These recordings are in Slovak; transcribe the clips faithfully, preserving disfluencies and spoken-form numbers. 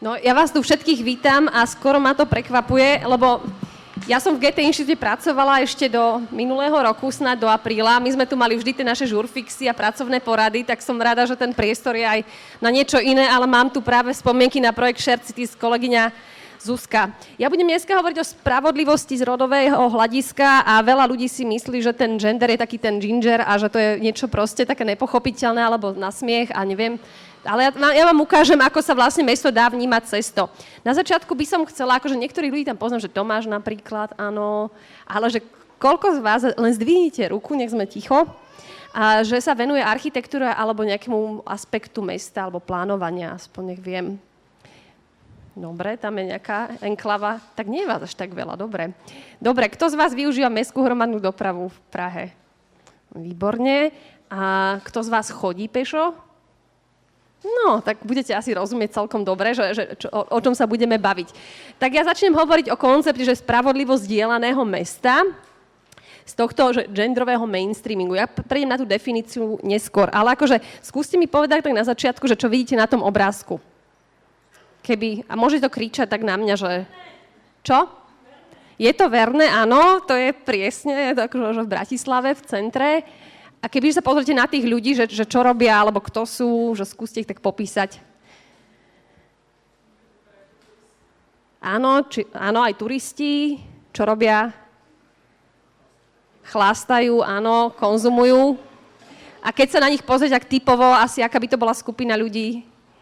No, ja vás tu všetkých vítam a skoro ma to prekvapuje, lebo ja som v gé té inštitúte pracovala ešte do minulého roku, snáď do apríla. My sme tu mali vždy tie naše žurfixy a pracovné porady, tak som rada, že ten priestor je aj na niečo iné, ale mám tu práve spomienky na projekt Shared Cities, kolegyňa Zuzka. Ja budem dneska hovoriť o spravodlivosti z rodového hľadiska a veľa ľudí si myslí, že ten gender je taký ten ginger a že to je niečo proste také nepochopiteľné alebo na smiech a neviem. Ale ja, ja vám ukážem, ako sa vlastne mesto dá vnímať cez to. Na začiatku by som chcela, akože niektorých ľudí tam poznám, že Tomáš napríklad, áno, ale že koľko z vás, len zdvihnite ruku, nech sme ticho, a že sa venuje architektúre alebo nejakému aspektu mesta alebo plánovania, aspoň nech viem. Dobre, tam je nejaká enklava. Tak nie je vás až tak veľa, dobre. Dobre, kto z vás využíva mestskú hromadnú dopravu v Prahe? Výborne. A kto z vás chodí pešo? No, tak budete asi rozumieť celkom dobre, že, že, čo, o, o čom sa budeme baviť. Tak ja začnem hovoriť o koncepte, že spravodlivosť dielaného mesta z tohto že genderového mainstreamingu. Ja prejdem na tú definíciu neskôr, ale akože skúste mi povedať tak na začiatku, že čo vidíte na tom obrázku. Keby, a môže to kričať tak na mňa, že... Čo? Je to verné? Áno, to je presne, je to akože v Bratislave, v centre. A keby sa pozrite na tých ľudí, že, že čo robia, alebo kto sú, že skúste ich tak popísať. Áno, či, áno, aj turisti, čo robia? Chlástajú, áno, konzumujú. A keď sa na nich pozrieť tak typovo, asi aká by to bola skupina ľudí?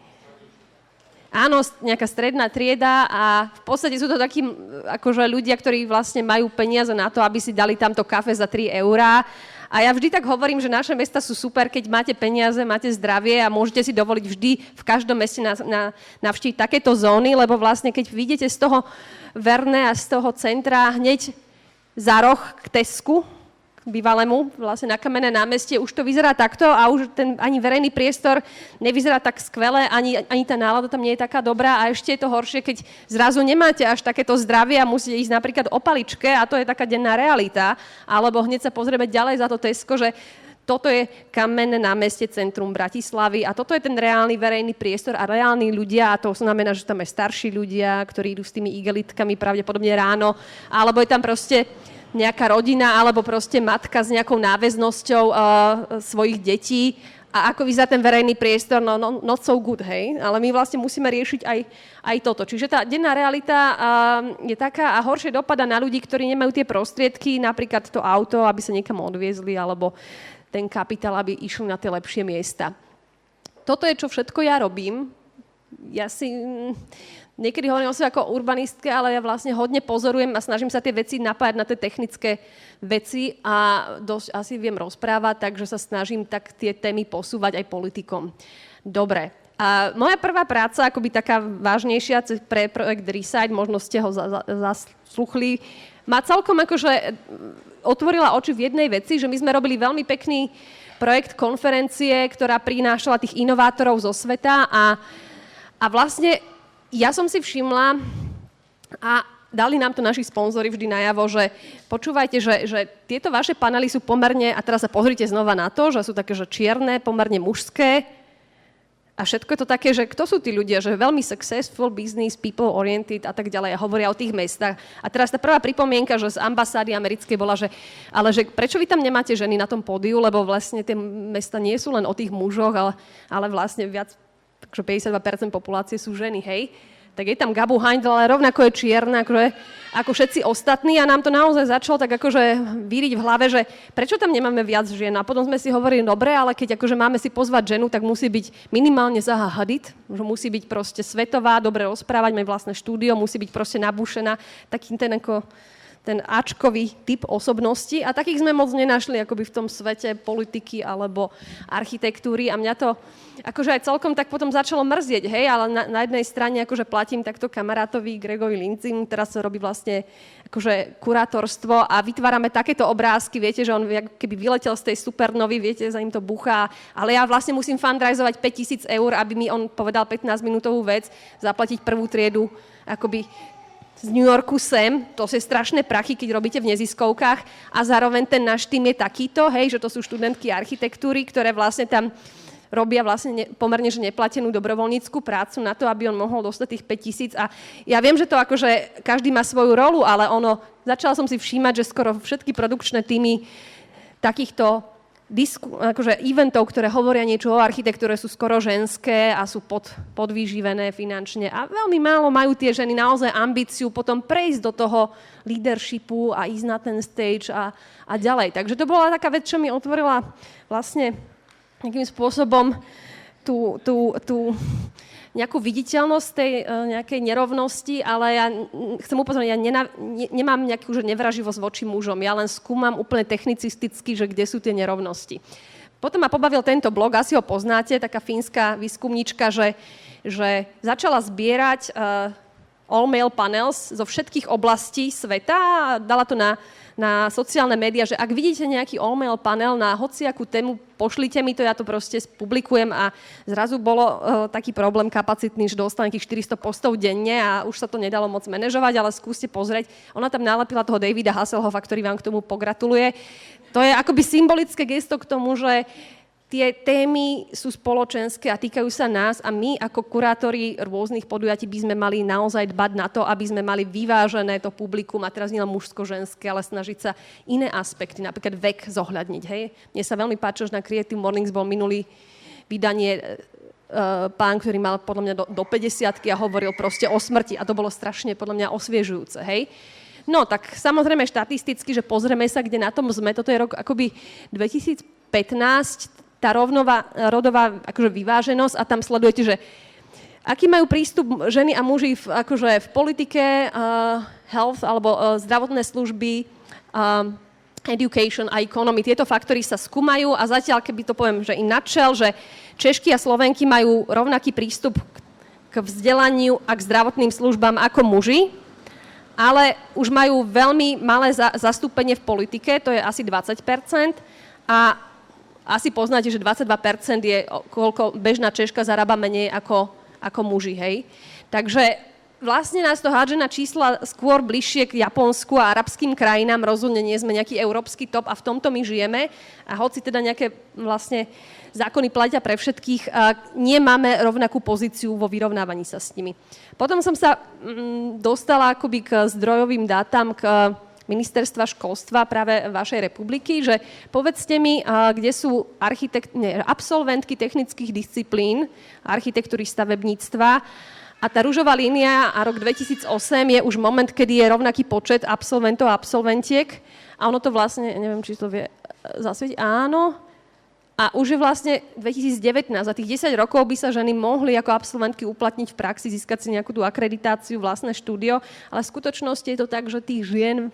Áno, nejaká stredná trieda a v podstate sú to takí akože ľudia, ktorí vlastne majú peniaze na to, aby si dali tamto kafe za tri eurá. A ja vždy tak hovorím, že naše mesta sú super, keď máte peniaze, máte zdravie a môžete si dovoliť vždy v každom meste na, na, navštíviť takéto zóny, lebo vlastne keď vidíte z toho Verné a z toho centra hneď za roh k Tesku, bývalému, vlastne na Kamenné námestie, už to vyzerá takto a už ten ani verejný priestor nevyzerá tak skvelé, ani, ani tá nálada tam nie je taká dobrá a ešte je to horšie, keď zrazu nemáte až takéto zdravie a musíte ísť napríklad o paličke a to je taká denná realita, alebo hneď sa pozrieme ďalej za to Tesko, že toto je Kamenné námestie, centrum Bratislavy a toto je ten reálny verejný priestor a reálni ľudia, a to znamená, že tam je starší ľudia, ktorí idú s tými igelitkami pravdepodobne ráno, alebo je tam proste nejaká rodina alebo proste matka s nejakou náväznosťou uh, svojich detí a ako vyzerá ten verejný priestor, no, no not so good, hej, ale my vlastne musíme riešiť aj, aj toto. Čiže tá denná realita uh, je taká a horšie dopada na ľudí, ktorí nemajú tie prostriedky, napríklad to auto, aby sa niekam odviezli, alebo ten kapitál, aby išli na tie lepšie miesta. Toto je, čo všetko ja robím. Ja si... Niekedy hovorím o sebe ako urbanistke, ale ja vlastne hodne pozorujem a snažím sa tie veci napájať na tie technické veci a dosť asi viem rozprávať, takže sa snažím tak tie témy posúvať aj politikom. Dobre. A moja prvá práca, akoby taká vážnejšia pre projekt Reside, možno ste ho zasluchli, ma celkom akože otvorila oči v jednej veci, že my sme robili veľmi pekný projekt konferencie, ktorá prinášala tých inovátorov zo sveta a, a vlastne ja som si všimla a dali nám to naši sponzori vždy najavo, že počúvajte, že, že tieto vaše panely sú pomerne, a teraz sa pozrite znova na to, že sú také, že čierne, pomerne mužské a všetko je to také, že kto sú tí ľudia, že veľmi successful business, people oriented a tak ďalej a hovoria o tých mestách. A teraz tá prvá pripomienka, že z ambasády americkej bola, že ale že prečo vy tam nemáte ženy na tom pódiu, lebo vlastne tie mesta nie sú len o tých mužoch, ale, ale vlastne viac takže päťdesiatdva percent populácie sú ženy, hej, tak je tam Gabu Heindl, ale rovnako je čierna, akože, ako všetci ostatní a nám to naozaj začalo tak akože víriť v hlave, že prečo tam nemáme viac žien a potom sme si hovorili, dobre, ale keď akože máme si pozvať ženu, tak musí byť minimálne Zaha Hadid, že musí byť proste svetová, dobre rozprávať, mať vlastné štúdio, musí byť proste nabušená, takým ten ako ten áčkový typ osobnosti a takých sme moc nenašli akoby v tom svete politiky alebo architektúry a mňa to akože aj celkom tak potom začalo mrzieť, hej, ale na, na jednej strane akože platím takto kamarátovi Gregovi Lindsaymu, teraz sa robí vlastne akože kurátorstvo a vytvárame takéto obrázky, viete, že on keby vyletel z tej supernovy, viete, za ním to buchá, ale ja vlastne musím fundraizovať päťtisíc eur, aby mi on povedal pätnásťminútovú vec, zaplatiť prvú triedu, akoby z New Yorku sem, to sú strašné prachy, keď robíte v neziskovkách a zároveň ten náš tým je takýto, hej, že to sú študentky architektúry, ktoré vlastne tam robia vlastne ne, pomerne že neplatenú dobrovoľníckú prácu na to, aby on mohol dostať tých päť tisíc. A ja viem, že to akože každý má svoju rolu, ale ono, začala som si všímať, že skoro všetky produkčné týmy takýchto disku, akože eventov, ktoré hovoria niečo o architektúre, sú skoro ženské a sú pod, podvýživené finančne. A veľmi málo majú tie ženy naozaj ambíciu potom prejsť do toho leadershipu a ísť na ten stage a, a ďalej. Takže to bola taká vec, čo mi otvorila vlastne nejakým spôsobom tú, tú, tú nejakú viditeľnosť tej uh, nejakej nerovnosti, ale ja chcem upozorniť, ja nena, ne, nemám nejakú že nevraživosť voči mužom, ja len skúmam úplne technicisticky, že kde sú tie nerovnosti. Potom ma pobavil tento blog, asi ho poznáte, taká fínska výskumníčka, že, že začala zbierať uh, all-male panels zo všetkých oblastí sveta a dala to na na sociálne médiá, že ak vidíte nejaký all-male panel na hociakú tému, pošlite mi to, ja to proste publikujem a zrazu bolo uh, taký problém kapacitný, že dostal nejakých štyristo postov denne a už sa to nedalo moc manažovať, ale skúste pozrieť. Ona tam nalepila toho Davida Hasselhoffa, ktorý vám k tomu pogratuluje. To je akoby symbolické gesto k tomu, že tie témy sú spoločenské a týkajú sa nás a my ako kurátori rôznych podujatí by sme mali naozaj dbať na to, aby sme mali vyvážené to publikum a teraz nie len mužsko-ženské, ale snažiť sa iné aspekty, napríklad vek zohľadniť. Hej? Mne sa veľmi páči, že na Creative Mornings bol minulý vydanie uh, pán, ktorý mal podľa mňa do, do päťdesiatky a hovoril proste o smrti a to bolo strašne podľa mňa osviežujúce. Hej? No tak samozrejme štatisticky, že pozrieme sa, kde na tom sme, toto je rok akoby dvetisícpätnásť, tá rovnová, rodová akože vyváženosť a tam sledujete, že aký majú prístup ženy a muži v, akože v politike, uh, health alebo uh, zdravotné služby, uh, education a economy. Tieto faktory sa skúmajú a zatiaľ, keby to poviem, že in nutshell, že Češky a Slovenky majú rovnaký prístup k vzdelaniu a k zdravotným službám ako muži, ale už majú veľmi malé za, zastúpenie v politike, to je asi dvadsať percent a asi poznáte, že dvadsaťdva percent je, koľko bežná Češka zarába menej ako, ako muži, hej. Takže vlastne nás to hádže na čísla skôr bližšie k Japonsku a arabským krajinám, rozhodne nie sme nejaký európsky top a v tomto my žijeme. A hoci teda nejaké vlastne zákony platia pre všetkých, nemáme rovnakú pozíciu vo vyrovnávaní sa s nimi. Potom som sa mm, dostala akoby k zdrojovým dátam, k ministerstva školstva práve vašej republiky, že povedzte mi, kde sú architekt, nie, absolventky technických disciplín, architektúry, stavebníctva a tá ružová línia a rok dvetisícosem je už moment, kedy je rovnaký počet absolventov a absolventiek a ono to vlastne, neviem, či to vie zasvietiť, áno, a už je vlastne dvetisícdevätnásť a tých desať rokov by sa ženy mohli ako absolventky uplatniť v praxi, získať si nejakú tú akreditáciu, vlastné štúdio, ale v skutočnosti je to tak, že tých žien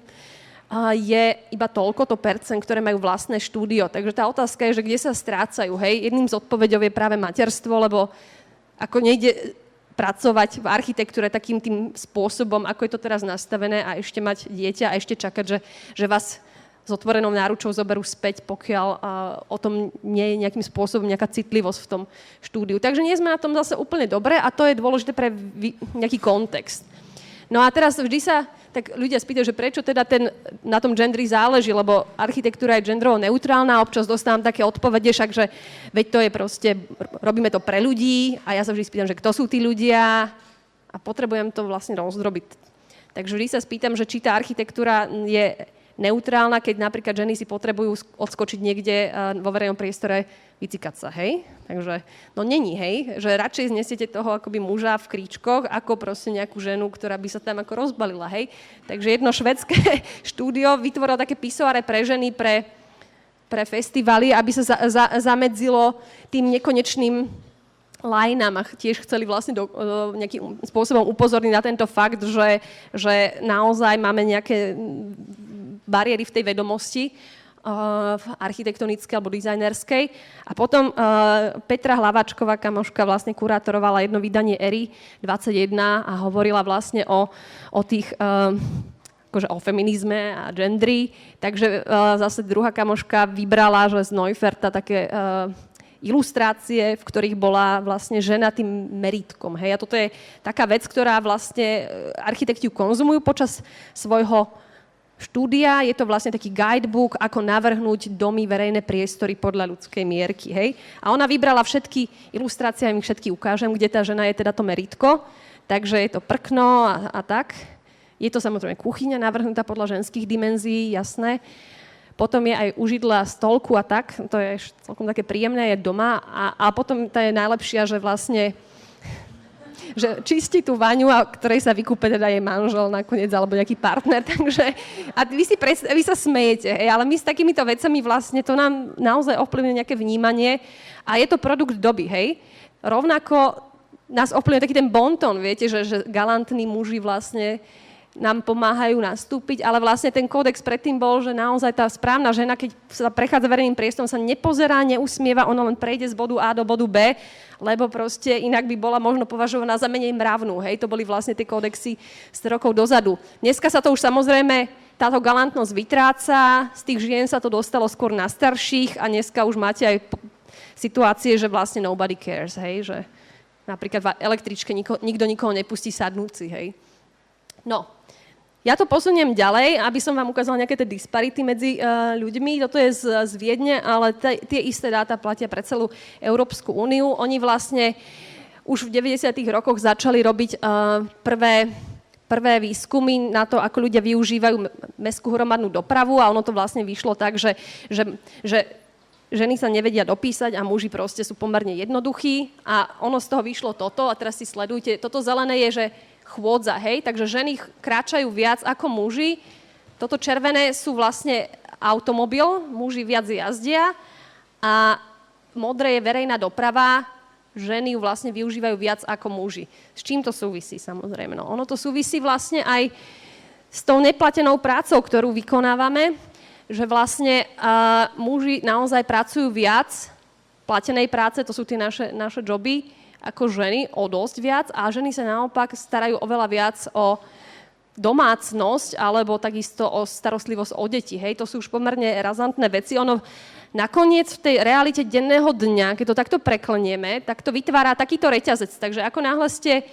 je iba toľko to percent, ktoré majú vlastné štúdio. Takže tá otázka je, že kde sa strácajú. Hej? Jedným z odpoveďov je práve materstvo, lebo ako nejde pracovať v architektúre takým tým spôsobom, ako je to teraz nastavené a ešte mať dieťa a ešte čakať, že, že vás s otvorenou náručou zoberú späť, pokiaľ uh, o tom nie je nejakým spôsobom nejaká citlivosť v tom štúdiu. Takže nie sme na tom zase úplne dobre a to je dôležité pre vy, nejaký kontext. No a teraz vždy sa tak ľudia spýtajú, že prečo teda ten, na tom gendri záleží, lebo architektúra je gendrovo neutrálna, občas dostávam také odpovede, však, že veď to je proste, robíme to pre ľudí a ja sa vždy spýtam, že kto sú tí ľudia a potrebujem to vlastne rozdrobiť. Takže vždy sa spýtam, že či tá architektúra je neutrálna, keď napríklad ženy si potrebujú odskočiť niekde vo verejnom priestore, vycikať sa, hej? Takže, no není, hej? Že radšej znesiete toho akoby muža v kríčkoch, ako proste nejakú ženu, ktorá by sa tam ako rozbalila, hej? Takže jedno švédske štúdio vytvorilo také pisoare pre ženy, pre, pre festivaly, aby sa za, za, zamedzilo tým nekonečným line-am a tiež chceli vlastne do, do, nejakým spôsobom upozorniť na tento fakt, že, že naozaj máme nejaké bariéry v tej vedomosti uh, v architektonickej alebo dizajnerskej. A potom uh, Petra Hlavačková, kamoška, vlastne kurátorovala jedno vydanie Ery dvadsaťjeden a hovorila vlastne o, o tých... Uh, akože o feminizme a gendri. Takže uh, zase druhá kamoška vybrala, že z Neuferta také... Uh, ilustrácie, v ktorých bola vlastne žena tým merítkom. Hej? A toto je taká vec, ktorá vlastne architekti konzumujú počas svojho štúdia, je to vlastne taký guidebook, ako navrhnúť domy, verejné priestory podľa ľudskej mierky, hej. A ona vybrala všetky ilustrácie, ja im všetky ukážem, kde tá žena je teda to meritko, takže je to prkno a, a tak. Je to samozrejme kuchyňa navrhnutá podľa ženských dimenzií, jasné. Potom je aj užidla stolku a tak, to je celkom také príjemné, je doma. A, a potom tá je najlepšia, že vlastne že čistí tú vaňu, a ktorej sa vykúpe teda jej manžel nakoniec, alebo nejaký partner, takže a vy, si pres, vy sa smejete, hej, ale my s takýmito vecami vlastne to nám naozaj ovplyvňuje nejaké vnímanie a je to produkt doby, hej. Rovnako nás ovplyvňuje taký ten bonton, viete, že, že galantní muži vlastne nám pomáhajú nastúpiť, ale vlastne ten kódex predtým bol, že naozaj tá správna žena, keď sa prechádza verejným priestorom, sa nepozerá, neusmieva, ona len prejde z bodu A do bodu B, lebo proste inak by bola možno považovaná za menej mravnú. Hej, to boli vlastne tie kódexy sto rokov dozadu. Dneska sa to už samozrejme, táto galantnosť vytráca, z tých žien sa to dostalo skôr na starších a dneska už máte aj situácie, že vlastne nobody cares, hej, že napríklad v električke nikto, nikto nikoho nepustí sadnúci, hej. No, ja to posuniem ďalej, aby som vám ukázala nejaké tie disparity medzi uh, ľuďmi. Toto je z, z Viedne, ale t- tie isté dáta platia pre celú Európsku úniu. Oni vlastne už v deväťdesiatych rokoch začali robiť uh, prvé, prvé výskumy na to, ako ľudia využívajú mestskú hromadnú dopravu a ono to vlastne vyšlo tak, že, že, že ženy sa nevedia dopísať a muži proste sú pomerne jednoduchí a ono z toho vyšlo toto a teraz si sledujte. Toto zelené je, že chôdza, hej, takže ženy kráčajú viac ako muži. Toto červené sú vlastne automobil, muži viac jazdia a modré je verejná doprava, ženy ju vlastne využívajú viac ako muži. S čím to súvisí, samozrejme? No, ono to súvisí vlastne aj s tou neplatenou prácou, ktorú vykonávame, že vlastne uh, muži naozaj pracujú viac platenej práce, to sú tie naše, naše joby, ako ženy o dosť viac a ženy sa naopak starajú oveľa viac o domácnosť alebo takisto o starostlivosť o deti. Hej, to sú už pomerne razantné veci. Ono nakoniec v tej realite denného dňa, keď to takto preklenieme, tak to vytvára takýto reťazec. Takže ako náhle ste,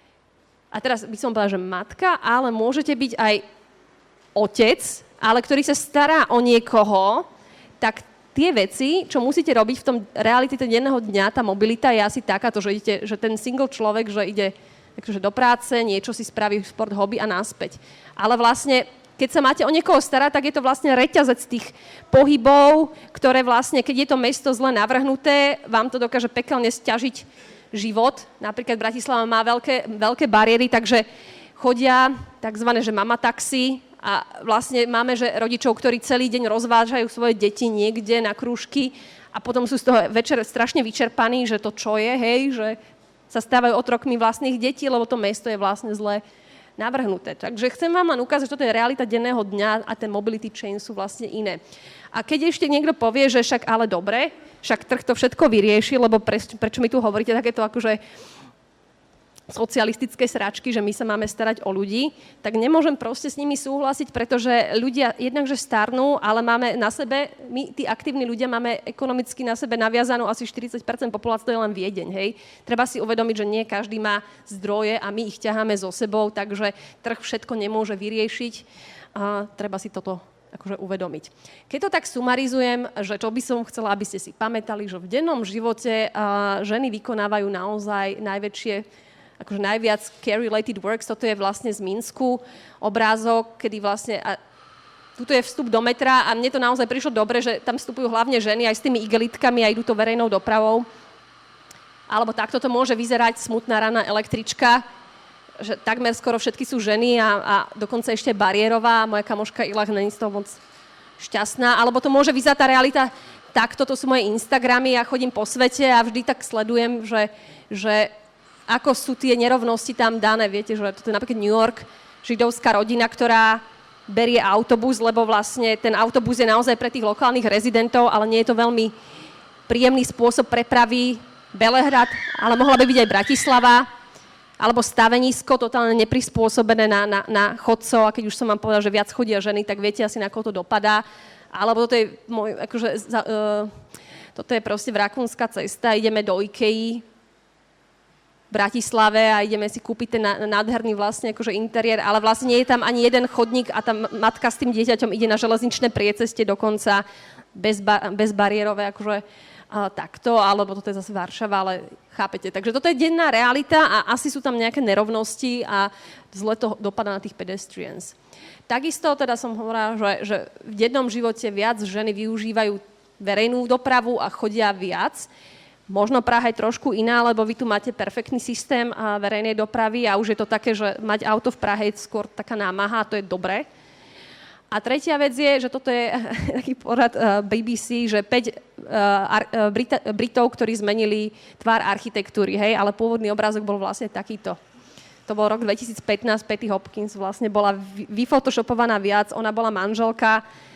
a teraz by som povedala, že matka, ale môžete byť aj otec, ale ktorý sa stará o niekoho, tak tie veci, čo musíte robiť v tom realite denného dňa, tá mobilita je asi takáto, že, idete, že ten single človek, že ide takže do práce, niečo si spraví, šport, hobby a naspäť. Ale vlastne, keď sa máte o niekoho starať, tak je to vlastne reťazec tých pohybov, ktoré vlastne, keď je to mesto zle navrhnuté, vám to dokáže pekelne sťažiť život. Napríklad Bratislava má veľké, veľké bariéry, takže chodia takzvané, že mama taxi, a vlastne máme, že rodičov, ktorí celý deň rozvážajú svoje deti niekde na krúžky a potom sú z toho večer strašne vyčerpaní, že to čo je, hej, že sa stávajú otrokmi vlastných detí, lebo to mesto je vlastne zle navrhnuté. Takže chcem vám len ukázať, že toto je realita denného dňa a ten mobility chain sú vlastne iné. A keď ešte niekto povie, že však ale dobre, však trh to všetko vyrieši, lebo pre, prečo mi tu hovoríte takéto akože socialistické sračky, že my sa máme starať o ľudí, tak nemôžem proste s nimi súhlasiť, pretože ľudia jednakže starnú, ale máme na sebe, my, tí aktívni ľudia, máme ekonomicky na sebe naviazanú asi štyridsať percent populácie, to je len Viedeň, hej. Treba si uvedomiť, že nie každý má zdroje a my ich ťaháme so sebou, takže trh všetko nemôže vyriešiť a treba si toto akože uvedomiť. Keď to tak sumarizujem, že čo by som chcela, aby ste si pamätali, že v dennom živote uh, ženy vykonávajú naozaj najväčšie akože najviac care-related works, toto je vlastne z Minsku obrázok, kedy vlastne, a tuto je vstup do metra a mne to naozaj prišlo dobre, že tam vstupujú hlavne ženy aj s tými igelitkami a idú to verejnou dopravou. Alebo takto to môže vyzerať smutná rána električka, že takmer skoro všetky sú ženy a, a dokonca ešte bariérová, moja kamoška Ilah není z toho moc šťastná, alebo to môže vyzerať tá realita takto, to sú moje Instagramy, ja chodím po svete a vždy tak sledujem, že, že ako sú tie nerovnosti tam dané. Viete, že toto je napríklad New York, židovská rodina, ktorá berie autobus, lebo vlastne ten autobus je naozaj pre tých lokálnych rezidentov, ale nie je to veľmi príjemný spôsob prepravy. Belehrad, ale mohla by byť aj Bratislava, alebo stavenisko, totálne neprispôsobené na, na, na chodcov. A keď už som vám povedala, že viac chodia ženy, tak viete asi, na koho to dopadá. Alebo toto je, môj, akože, uh, toto je proste Rakúnska cesta, ideme do Ikei. Bratislave a ideme si kúpiť ten nádherný vlastne akože interiér, ale vlastne nie je tam ani jeden chodník a tam matka s tým dieťaťom ide na železničné prieceste dokonca bez, ba- bezbariérové akože uh, takto, alebo toto je zase Varšava, ale chápete. Takže toto je denná realita a asi sú tam nejaké nerovnosti a zle to dopadá na tých pedestrians. Takisto teda som hovorila, že, že v dennom živote viac ženy využívajú verejnú dopravu a chodia viac. Možno Praha je trošku iná, lebo vy tu máte perfektný systém verejnej dopravy a už je to také, že mať auto v Prahe je skôr taká námaha a to je dobré. A tretia vec je, že toto je taký porad bé bé cé, že päť Britov, ktorí zmenili tvár architektúry, hej, ale pôvodný obrázok bol vlastne takýto. To bol rok dvetisícpätnásť, Patty Hopkins vlastne bola vyfotoshopovaná viac, ona bola manželka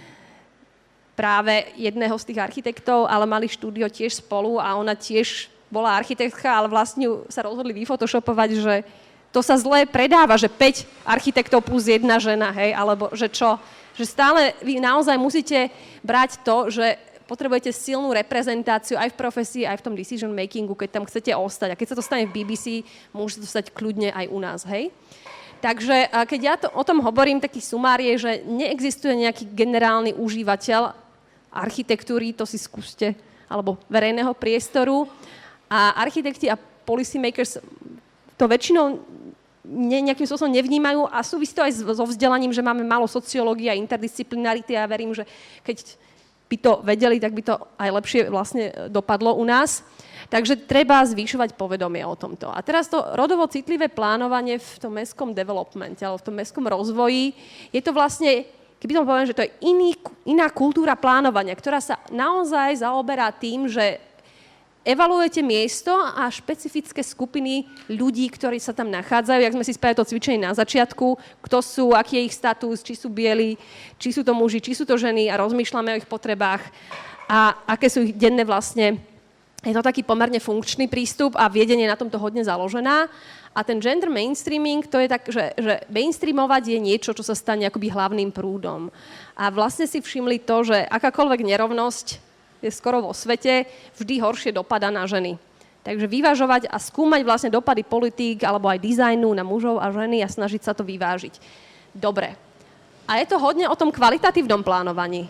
práve jedného z tých architektov, ale mali štúdio tiež spolu a ona tiež bola architektka, ale vlastne sa rozhodli vyfotoshopovať, že to sa zle predáva, že päť architektov plus jedna žena, hej, alebo že čo. Že stále vy naozaj musíte brať to, že potrebujete silnú reprezentáciu aj v profesii, aj v tom decision makingu, keď tam chcete ostať. A keď sa to stane v bé bé cé, môže to stať kľudne aj u nás, hej. Takže keď ja to, o tom hovorím, taký sumár je, že neexistuje nejaký generálny užívateľ architektúry, to si skúste, alebo verejného priestoru. A architekti a policy makers to väčšinou ne, nejakým spôsobom nevnímajú a súvisí to aj so vzdelaním, že máme málo sociológie a interdisciplinarity a ja verím, že keď by to vedeli, tak by to aj lepšie vlastne dopadlo u nás. Takže treba zvyšovať povedomie o tomto. A teraz to rodovo citlivé plánovanie v tom mestskom developmente, alebo v tom mestskom rozvoji, je to vlastne, keby som povedal, že to je iný, iná kultúra plánovania, ktorá sa naozaj zaoberá tým, že evaluujete miesto a špecifické skupiny ľudí, ktorí sa tam nachádzajú. Jak sme si spravili to cvičenie na začiatku, kto sú, aký je ich status, či sú bieli, či sú to muži, či sú to ženy a rozmýšľame o ich potrebách a aké sú ich denné vlastne. Je to taký pomerne funkčný prístup a viedenie na tomto hodne založená. A ten gender mainstreaming, to je tak, že, že mainstreamovať je niečo, čo sa stane akoby hlavným prúdom. A vlastne si všimli to, že akákoľvek nerovnosť je skoro vo svete, vždy horšie dopadá na ženy. Takže vyvažovať a skúmať vlastne dopady politík alebo aj dizajnu na mužov a ženy a snažiť sa to vyvážiť. Dobre. A je to hodne o tom kvalitatívnom plánovaní.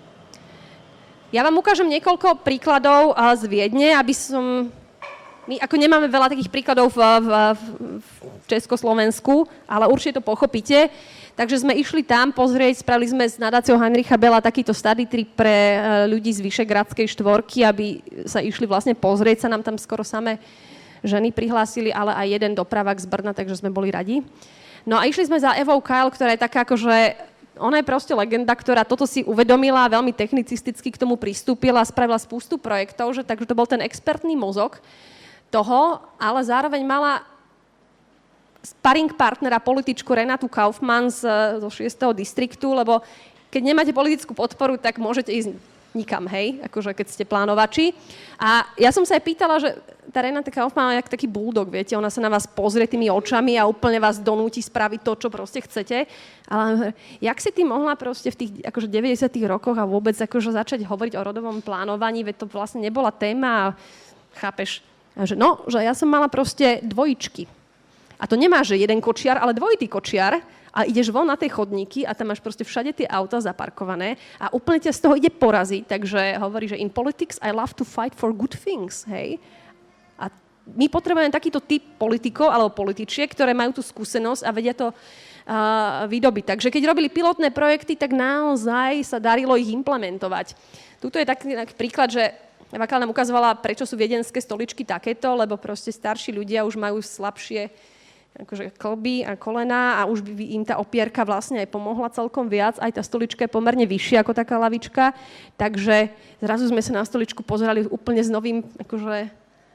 Ja vám ukážem niekoľko príkladov z Viedne, aby som... My ako nemáme veľa takých príkladov v, v, v Československu, ale určite to pochopíte. Takže sme išli tam pozrieť, spravili sme s nadáciou Heinricha Bella takýto study trip pre ľudí z Vyšegradskej štvorky, aby sa išli vlastne pozrieť, sa nám tam skoro samé ženy prihlásili, ale aj jeden dopravák z Brna, takže sme boli radi. No a išli sme za Evou Kyle, ktorá je taká akože, ona je proste legenda, ktorá toto si uvedomila, veľmi technicisticky k tomu pristúpila, spravila spústu projektov, že, takže to bol ten expertný mozog toho, ale zároveň mala sparring partnera, političku Renatu Kaufmann z, zo šiesteho distriktu, lebo keď nemáte politickú podporu, tak môžete ísť nikam, hej, akože keď ste plánovači. A ja som sa aj pýtala, že tá Renata Kaufmann je taký bulldog, viete, ona sa na vás pozrie tými očami a úplne vás donúti spraviť to, čo proste chcete. Ale jak si ty mohla proste v tých akože deväťdesiatych rokoch a vôbec akože začať hovoriť o rodovom plánovaní, veď to vlastne nebola téma, chápeš? A že no, že ja som mala proste dvojičky. A to nemá, že jeden kočiar, ale dvojitý kočiar a ideš von na tej chodníky a tam máš proste všade tie auta zaparkované a úplne ťa z toho ide poraziť. Takže hovorí, že in politics I love to fight for good things, hej. A my potrebujeme takýto typ politikov alebo političiek, ktoré majú tú skúsenosť a vedia to uh, vydobiť. Takže keď robili pilotné projekty, tak naozaj sa darilo ich implementovať. Tuto je taký, taký príklad, že Eva Kyle nám ukazovala, prečo sú viedenské stoličky takéto, lebo proste starší ľudia už majú slabšie akože klby a kolená a už by im tá opierka vlastne aj pomohla celkom viac. Aj tá stolička je pomerne vyššia ako taká lavička, takže zrazu sme sa na stoličku pozerali úplne s novým akože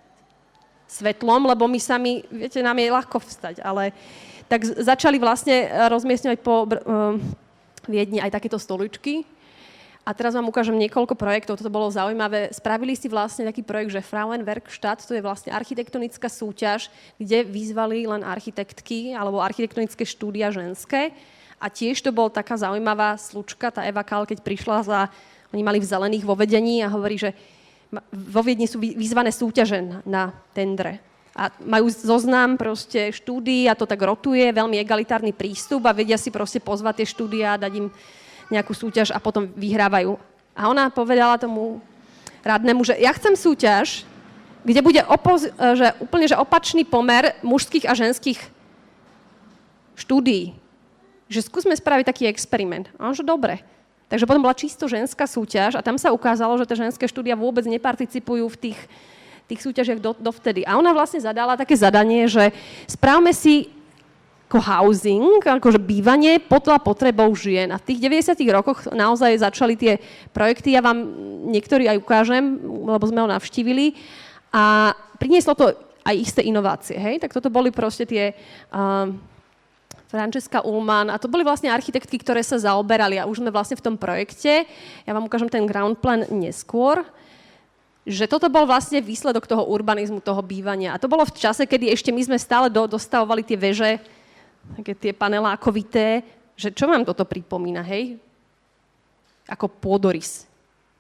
svetlom, lebo my sami, viete, nám je ľahko vstať, ale tak začali vlastne rozmiestňovať po uh, Viedni aj takéto stoličky. A teraz vám ukážem niekoľko projektov, toto bolo zaujímavé. Spravili si vlastne taký projekt, že Frauenwerkstatt, to je vlastne architektonická súťaž, kde vyzvali len architektky alebo architektonické štúdia ženské. A tiež to bol taká zaujímavá slučka, tá Eva Kyle, keď prišla za... Oni mali v zelených vo vedení a hovorí, že vo Viedni sú vyzvané súťaže na, na tendre. a majú zoznam proste štúdií a to tak rotuje, veľmi egalitárny prístup a vedia si proste pozvať tie štúdia, dať im nejakú súťaž a potom vyhrávajú. A ona povedala tomu radnému, že ja chcem súťaž, kde bude opoz- že úplne že opačný pomer mužských a ženských štúdií. Že skúsme spraviť taký experiment. A on, že dobre. Takže potom bola čisto ženská súťaž a tam sa ukázalo, že tie ženské štúdia vôbec neparticipujú v tých, tých súťažiach do, dovtedy. A ona vlastne zadala také zadanie, že správme si ako housing, akože bývanie podľa potrebou žien. A v tých deväťdesiatych rokoch naozaj začali tie projekty. Ja vám niektorý aj ukážem, lebo sme ho navštívili. A prinieslo to aj isté inovácie. Hej? Tak toto boli proste tie... Uh, Francesca Ullmann, a to boli vlastne architektky, ktoré sa zaoberali a už sme vlastne v tom projekte. Ja vám ukážem ten ground plan neskôr, že toto bol vlastne výsledok toho urbanizmu, toho bývania. A to bolo v čase, kedy ešte my sme stále do, dostavovali tie veže, také tie panelákovité, že čo vám toto pripomína, hej? Ako pôdorys.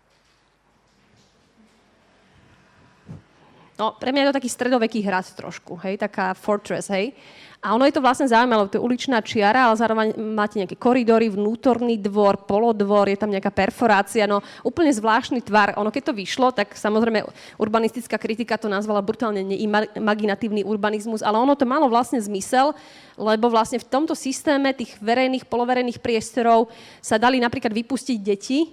No, pre mňa je to taký stredoveký hrad trošku, hej, taká fortress, hej. A ono je to vlastne zaujímavé, to je uličná čiara, ale zároveň máte nejaké koridory, vnútorný dvor, polodvor, je tam nejaká perforácia, no úplne zvláštny tvar. Ono keď to vyšlo, tak samozrejme urbanistická kritika to nazvala brutálne neimaginatívny urbanizmus, ale ono to malo vlastne zmysel, lebo vlastne v tomto systéme tých verejných, poloverejných priestorov sa dali napríklad vypustiť deti,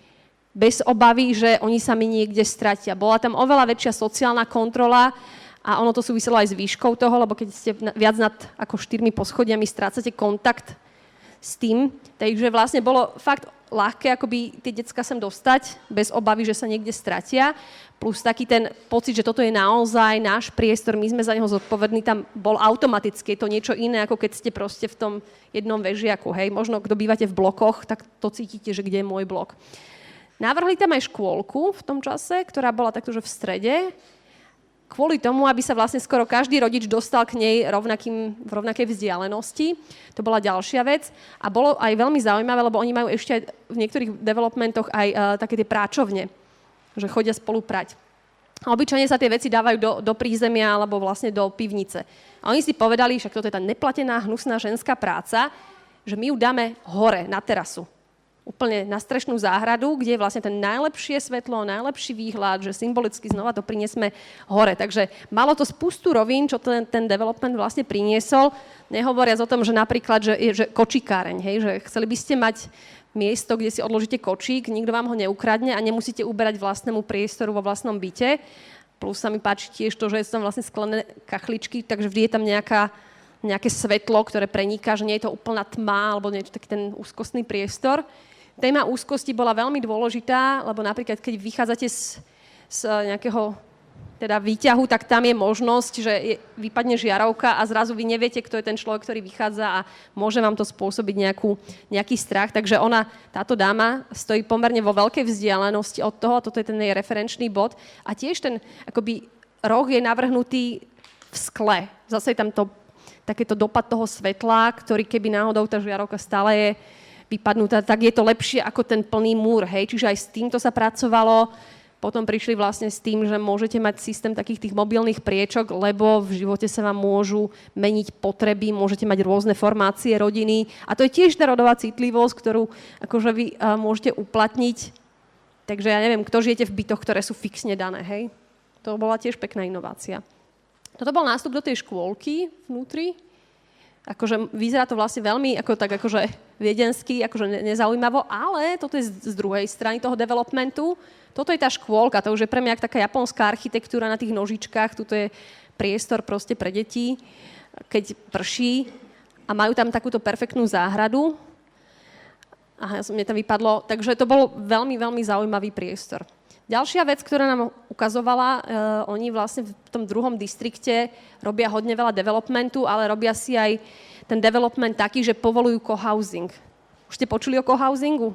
bez obavy, že oni sa mi niekde stratia. Bola tam oveľa väčšia sociálna kontrola a ono to súviselo aj s výškou toho, lebo keď ste viac nad ako štyrmi poschodiami, strácate kontakt s tým. Takže vlastne bolo fakt ľahké akoby tie decká sem dostať, bez obavy, že sa niekde stratia. Plus taký ten pocit, že toto je naozaj náš priestor, my sme za neho zodpovední, tam bol automaticky. Je to niečo iné, ako keď ste proste v tom jednom vežiaku. Hej? Možno, kto bývate v blokoch, tak to cítite, že kde je môj blok. Navrhli tam aj škôlku v tom čase, ktorá bola takto, že v strede, kvôli tomu, aby sa vlastne skoro každý rodič dostal k nej rovnakým, v rovnakej vzdialenosti. To bola ďalšia vec. A bolo aj veľmi zaujímavé, lebo oni majú ešte aj v niektorých developmentoch aj uh, také tie práčovne, že chodia spolu prať. A obyčajne sa tie veci dávajú do, do prízemia alebo vlastne do pivnice. A oni si povedali, však toto je tá neplatená, hnusná ženská práca, že my ju dáme hore, na terasu. Úplne na strešnú záhradu, kde je vlastne ten najlepšie svetlo, najlepší výhľad, že symbolicky znova to priniesme hore. Takže malo to spustu rovín, čo ten, ten development vlastne priniesol, nehovoriac o tom, že napríklad, že, že kočikáreň, hej, že chceli by ste mať miesto, kde si odložíte kočík, nikto vám ho neukradne a nemusíte uberať vlastnému priestoru vo vlastnom byte. Plus sa mi páči tiež to, že sú tam vlastne sklené kachličky, takže vždy je tam nejaká, nejaké svetlo, ktoré preniká, že nie je to úplná tma alebo niečo, taký ten úzkostný priestor. Téma úzkosti bola veľmi dôležitá, lebo napríklad, keď vychádzate z, z nejakého teda výťahu, tak tam je možnosť, že je, vypadne žiarovka a zrazu vy neviete, kto je ten človek, ktorý vychádza a môže vám to spôsobiť nejakú, nejaký strach. Takže ona, táto dáma, stojí pomerne vo veľkej vzdialenosti od toho, a toto je ten jej referenčný bod. A tiež ten akoby roh je navrhnutý v skle. Zase je tam to, takéto dopad toho svetla, ktorý keby náhodou tá žiarovka stále je vypadnutá, tak je to lepšie ako ten plný múr, hej. Čiže aj s týmto sa pracovalo. Potom prišli vlastne s tým, že môžete mať systém takých tých mobilných priečok, lebo v živote sa vám môžu meniť potreby, môžete mať rôzne formácie rodiny. A to je tiež tá rodová citlivosť, ktorú akože vy uh, môžete uplatniť. Takže ja neviem, kto žijete v bytoch, ktoré sú fixne dané, hej. To bola tiež pekná inovácia. Toto bol nástup do tej škôlky vnútri. Akože vyzerá to vlastne veľmi ako tak akože viedensky, akože nezaujímavo, ale toto je z, z druhej strany toho developmentu. Toto je tá škôlka, to už je pre mňa taká japonská architektúra na tých nožičkách, tuto je priestor proste pre deti, keď prší a majú tam takúto perfektnú záhradu. Aha, mne tam vypadlo, takže to bol veľmi, veľmi zaujímavý priestor. Ďalšia vec, ktorá nám ukazovala, uh, oni vlastne v tom druhom distrikte robia hodne veľa developmentu, ale robia si aj ten development taký, že povolujú cohousing. Už ste počuli o cohousingu?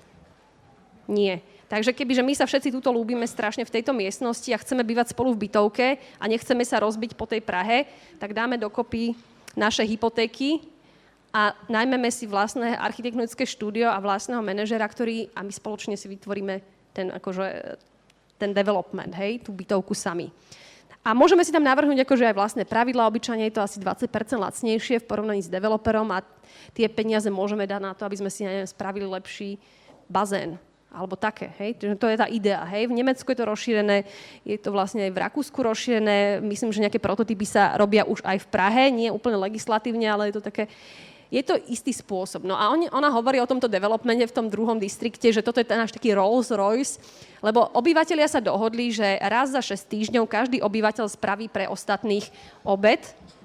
Nie. Takže kebyže my sa všetci tuto ľúbime strašne v tejto miestnosti a chceme bývať spolu v bytovke a nechceme sa rozbiť po tej Prahe, tak dáme dokopy naše hypotéky a najmeme si vlastné architektonické štúdio a vlastného manažera, ktorý a my spoločne si vytvoríme ten, akože, ten development, hej, tú bytovku sami. A môžeme si tam navrhnúť akože aj vlastné pravidlá, obyčajne je to asi dvadsať percent lacnejšie v porovnaní s developerom a tie peniaze môžeme dať na to, aby sme si neviem, spravili lepší bazén. Alebo také, hej. To je tá idea, hej. V Nemecku je to rozšírené, je to vlastne aj v Rakúsku rozšírené. Myslím, že nejaké prototypy sa robia už aj v Prahe, nie úplne legislatívne, ale je to také... Je to istý spôsob. No a on, ona hovorí o tomto developmente v tom druhom distrikte, že toto je ten náš taký Rolls Royce, lebo obyvatelia sa dohodli, že raz za šesť týždňov každý obyvateľ spraví pre ostatných obed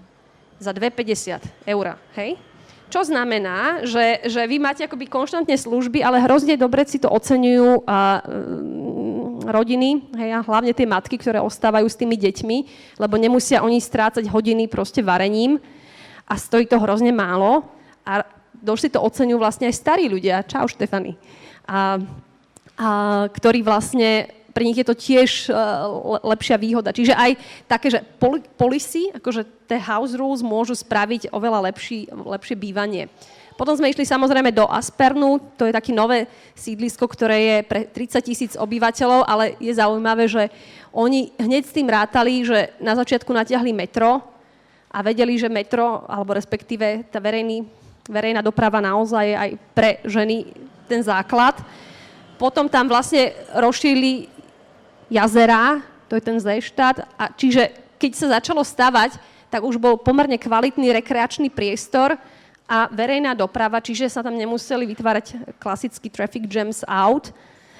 za dve päťdesiat eur, hej? Čo znamená, že, že vy máte akoby konštantne služby, ale hrozne dobre si to oceňujú a, um, rodiny, hej, a hlavne tie matky, ktoré ostávajú s tými deťmi, lebo nemusia oni strácať hodiny proste varením a stojí to hrozne málo a dosť si to oceňujú vlastne aj starí ľudia. Čau, Štefany. A, a, ktorí vlastne, pre nich je to tiež uh, lepšia výhoda. Čiže aj také, že poli- policy, akože tie house rules môžu spraviť oveľa lepší, lepšie bývanie. Potom sme išli samozrejme do Aspernu, to je také nové sídlisko, ktoré je pre tridsať tisíc obyvateľov, ale je zaujímavé, že oni hneď s tým rátali, že na začiatku natiahli metro, a vedeli, že metro, alebo respektíve tá verejný, verejná doprava naozaj je aj pre ženy ten základ. Potom tam vlastne rozšírili jazerá, to je ten Seestadt, a čiže keď sa začalo stavať, tak už bol pomerne kvalitný rekreačný priestor a verejná doprava, čiže sa tam nemuseli vytvárať klasický traffic jams out.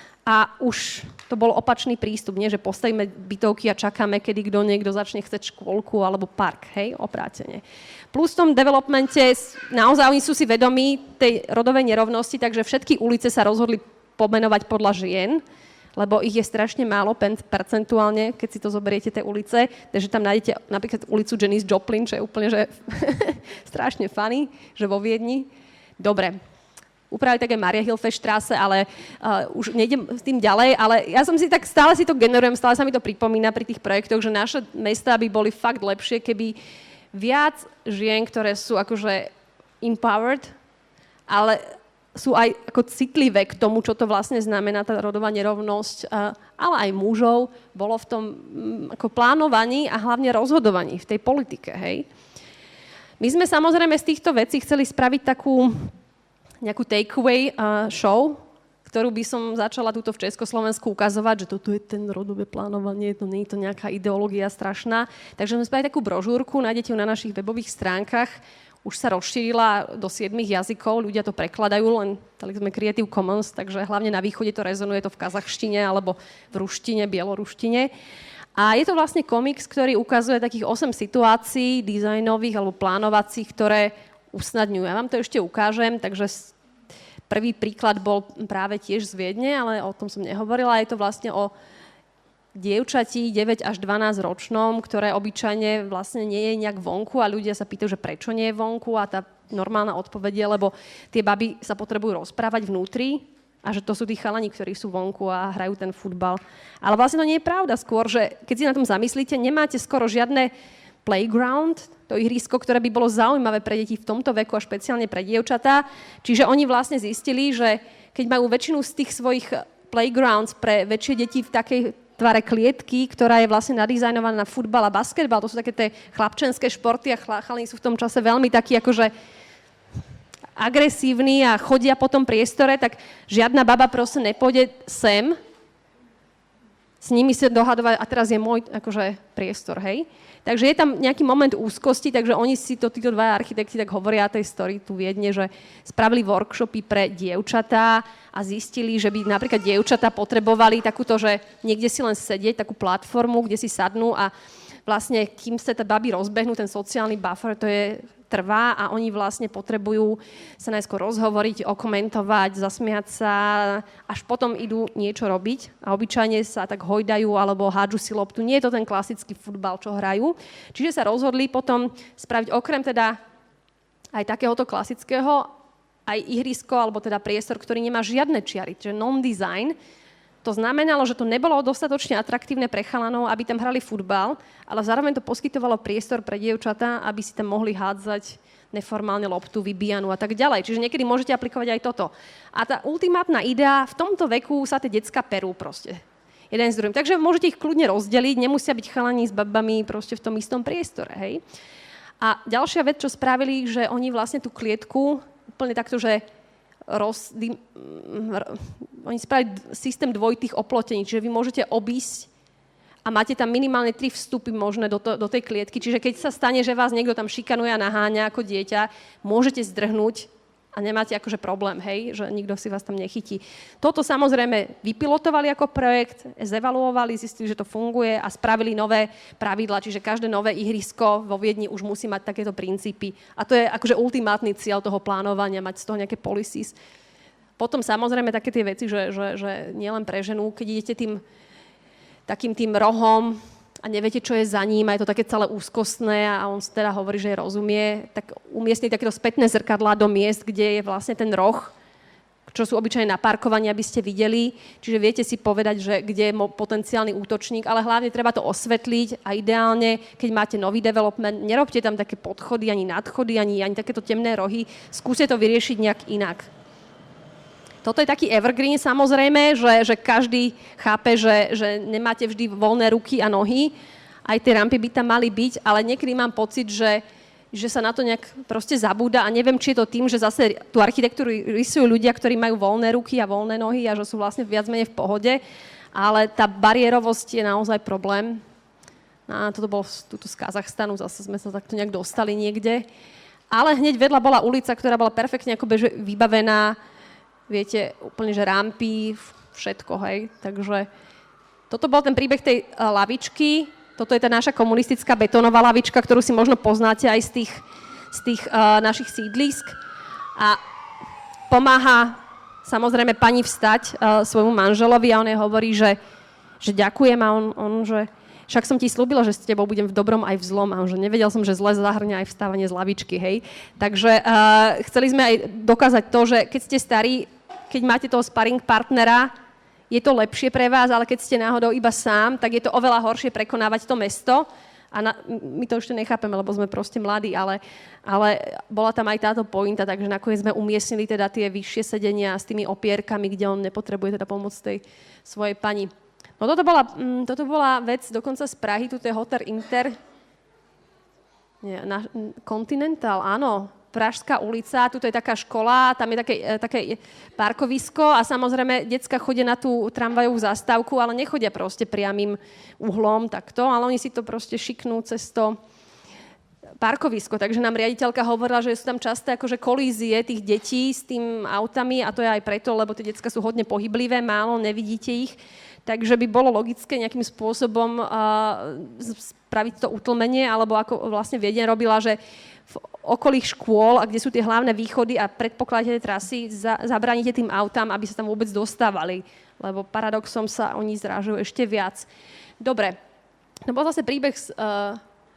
A už to bol opačný prístup, nie, že postavíme bytovky a čakáme, kedy kto niekto začne chceť škôlku alebo park, hej, oprátene. Plus v tom developmente naozaj oni sú si vedomí tej rodovej nerovnosti, takže všetky ulice sa rozhodli pomenovať podľa žien, lebo ich je strašne málo percentuálne, keď si to zoberiete tie ulice, takže tam nájdete napríklad ulicu Janis Joplin, čo je úplne že strašne funny, že vo Viedni. Dobre. Upravili také Mariahilfestraße, ale uh, už nejdem s tým ďalej, ale ja som si tak, stále si to generujem, stále sa mi to pripomína pri tých projektoch, že naše mestá by boli fakt lepšie, keby viac žien, ktoré sú akože empowered, ale sú aj ako citlivé k tomu, čo to vlastne znamená, tá rodová nerovnosť, uh, ale aj mužov, bolo v tom um, ako plánovaní a hlavne rozhodovaní v tej politike, hej. My sme samozrejme z týchto vecí chceli spraviť takú nejakú takeaway uh, show, ktorú by som začala túto v Československu ukazovať, že toto je ten rodové plánovanie, to nie je to nejaká ideológia strašná. Takže sme spravili takú brožúrku, nájdete ju na našich webových stránkach. Už sa rozšírila do siedmich jazykov, ľudia to prekladajú, len dali sme Creative Commons, takže hlavne na východe to rezonuje to v kazachštine alebo v ruštine, bieloruštine. A je to vlastne komiks, ktorý ukazuje takých osem situácií dizajnových alebo plánovacích, ktoré usnadňujú. Ja vám to ešte ukážem, takže prvý príklad bol práve tiež z Viedne, ale o tom som nehovorila. Je to vlastne o dievčati deväť až dvanásť ročnom, ktoré obyčajne vlastne nie je nejak vonku a ľudia sa pýtajú, že prečo nie je vonku a tá normálna odpoveď je, lebo tie baby sa potrebujú rozprávať vnútri a že to sú tí chalani, ktorí sú vonku a hrajú ten futbal. Ale vlastne to nie je pravda. Skôr, že keď si na tom zamyslíte, nemáte skoro žiadne playground, to ihrisko, ktoré by bolo zaujímavé pre deti v tomto veku a špeciálne pre dievčatá. Čiže oni vlastne zistili, že keď majú väčšinu z tých svojich playgrounds pre väčšie deti v takej tvare klietky, ktorá je vlastne nadizajnovaná na futbal a basketbal, to sú také tie chlapčenské športy a chalani sú v tom čase veľmi takí akože agresívni a chodia po tom priestore, tak žiadna baba proste nepôjde sem s nimi sa dohadovať a teraz je môj akože priestor, hej. Takže je tam nejaký moment úzkosti, takže oni si to, títo dva architekti tak hovoria tej story tu Viedne, že spravili workshopy pre dievčatá a zistili, že by napríklad dievčatá potrebovali takúto, že niekde si len sedieť, takú platformu, kde si sadnú a vlastne, kým sa tá baby rozbehnú, ten sociálny buffer, to je trvá a oni vlastne potrebujú sa najskôr rozhovoriť, okomentovať, zasmiať sa, až potom idú niečo robiť a obyčajne sa tak hojdajú alebo hádžu si loptu. Nie je to ten klasický futbal, čo hrajú. Čiže sa rozhodli potom spraviť okrem teda aj takéhoto klasického aj ihrisko, alebo teda priestor, ktorý nemá žiadne čiary, čiže non-design. To znamenalo, že to nebolo dostatočne atraktívne pre chalanov, aby tam hrali futbal, ale zároveň to poskytovalo priestor pre dievčatá, aby si tam mohli hádzať neformálne loptu, vybíjanú a tak ďalej. Čiže niekedy môžete aplikovať aj toto. A tá ultimátna idea, v tomto veku sa tie decká perú proste. jeden s druhým. Takže môžete ich kľudne rozdeliť, nemusia byť chalani s babami proste v tom istom priestore, hej. A ďalšia vec, čo spravili, že oni vlastne tú klietku úplne takto, že roz, dym, r, oni spravili systém dvojitých oplotení, čiže vy môžete obísť a máte tam minimálne tri vstupy možné do, to, do tej klietky. Čiže keď sa stane, že vás niekto tam šikanuje a naháňa ako dieťa, môžete zdrhnúť a nemáte akože problém, hej, že nikto si vás tam nechytí. Toto samozrejme vypilotovali ako projekt, zevaluovali, zistili, že to funguje a spravili nové pravidlá, čiže každé nové ihrisko vo Viedni už musí mať takéto princípy. A to je akože ultimátny cieľ toho plánovania, mať z toho nejaké policies. Potom samozrejme také tie veci, že, že, že nielen pre ženu, keď idete tým takým tým rohom a neviete, čo je za ním, a je to také celé úzkostné a on teda hovorí, že rozumie, tak umiestniť takéto spätné zrkadlá do miest, kde je vlastne ten roh, čo sú obyčajne na parkovanie, aby ste videli. Čiže viete si povedať, že kde je potenciálny útočník, ale hlavne treba to osvetliť a ideálne, keď máte nový development, nerobte tam také podchody, ani nadchody, ani, ani takéto temné rohy. Skúste to vyriešiť nejak inak. Toto je taký evergreen samozrejme, že, že každý chápe, že, že nemáte vždy voľné ruky a nohy. Aj tie rampy by tam mali byť, ale niekedy mám pocit, že, že sa na to nejak proste zabúda a neviem, či je to tým, že zase tú architektúru rysujú ľudia, ktorí majú voľné ruky a voľné nohy a že sú vlastne viac menej v pohode, ale tá bariérovosť je naozaj problém. A toto bolo tuto z Kazachstanu, zase sme sa takto nejak dostali niekde. Ale hneď vedľa bola ulica, ktorá bola perfektne akoby vybavená, viete, úplne, že rampy, všetko, hej. Takže toto bol ten príbeh tej uh, lavičky. Toto je tá naša komunistická betónová lavička, ktorú si možno poznáte aj z tých, z tých uh, našich sídlisk. A pomáha samozrejme pani vstať uh, svojmu manželovi a on jej hovorí, že, že ďakujem a on, on, že však som ti slúbila, že s tebou budem v dobrom aj v zlom. A on, že nevedel som, že zle zahrňa aj vstávanie z lavičky, hej. Takže uh, chceli sme aj dokázať to, že keď ste starí, keď máte toho sparring partnera, je to lepšie pre vás, ale keď ste náhodou iba sám, tak je to oveľa horšie prekonávať to mesto. A na, my to ešte nechápeme, lebo sme proste mladí, ale, ale bola tam aj táto pointa, takže nakoniec sme umiestnili teda tie vyššie sedenia s tými opierkami, kde on nepotrebuje teda pomoc tej svojej pani. No toto bola, mm, toto bola vec dokonca z Prahy, tu je Hotel Inter, nie, na, Continental, áno, Pražská ulica, tuto je taká škola, tam je také, také parkovisko a samozrejme decka chodia na tú tramvajovú zastávku, ale nechodia proste priamým uhlom takto, ale oni si to proste šiknú cez to parkovisko. Takže nám riaditeľka hovorila, že sú tam časté akože kolízie tých detí s tým autami a to je aj preto, lebo tie decka sú hodne pohyblivé, málo, nevidíte ich. Takže by bolo logické nejakým spôsobom uh, spraviť to utlmenie, alebo ako vlastne Viedeň robila, že v okolých škôl, a kde sú tie hlavné východy a predpokladáte trasy, za, zabránite tým autám, aby sa tam vôbec dostávali. Lebo paradoxom sa oni zrážujú ešte viac. Dobre, to bol zase príbeh z, uh,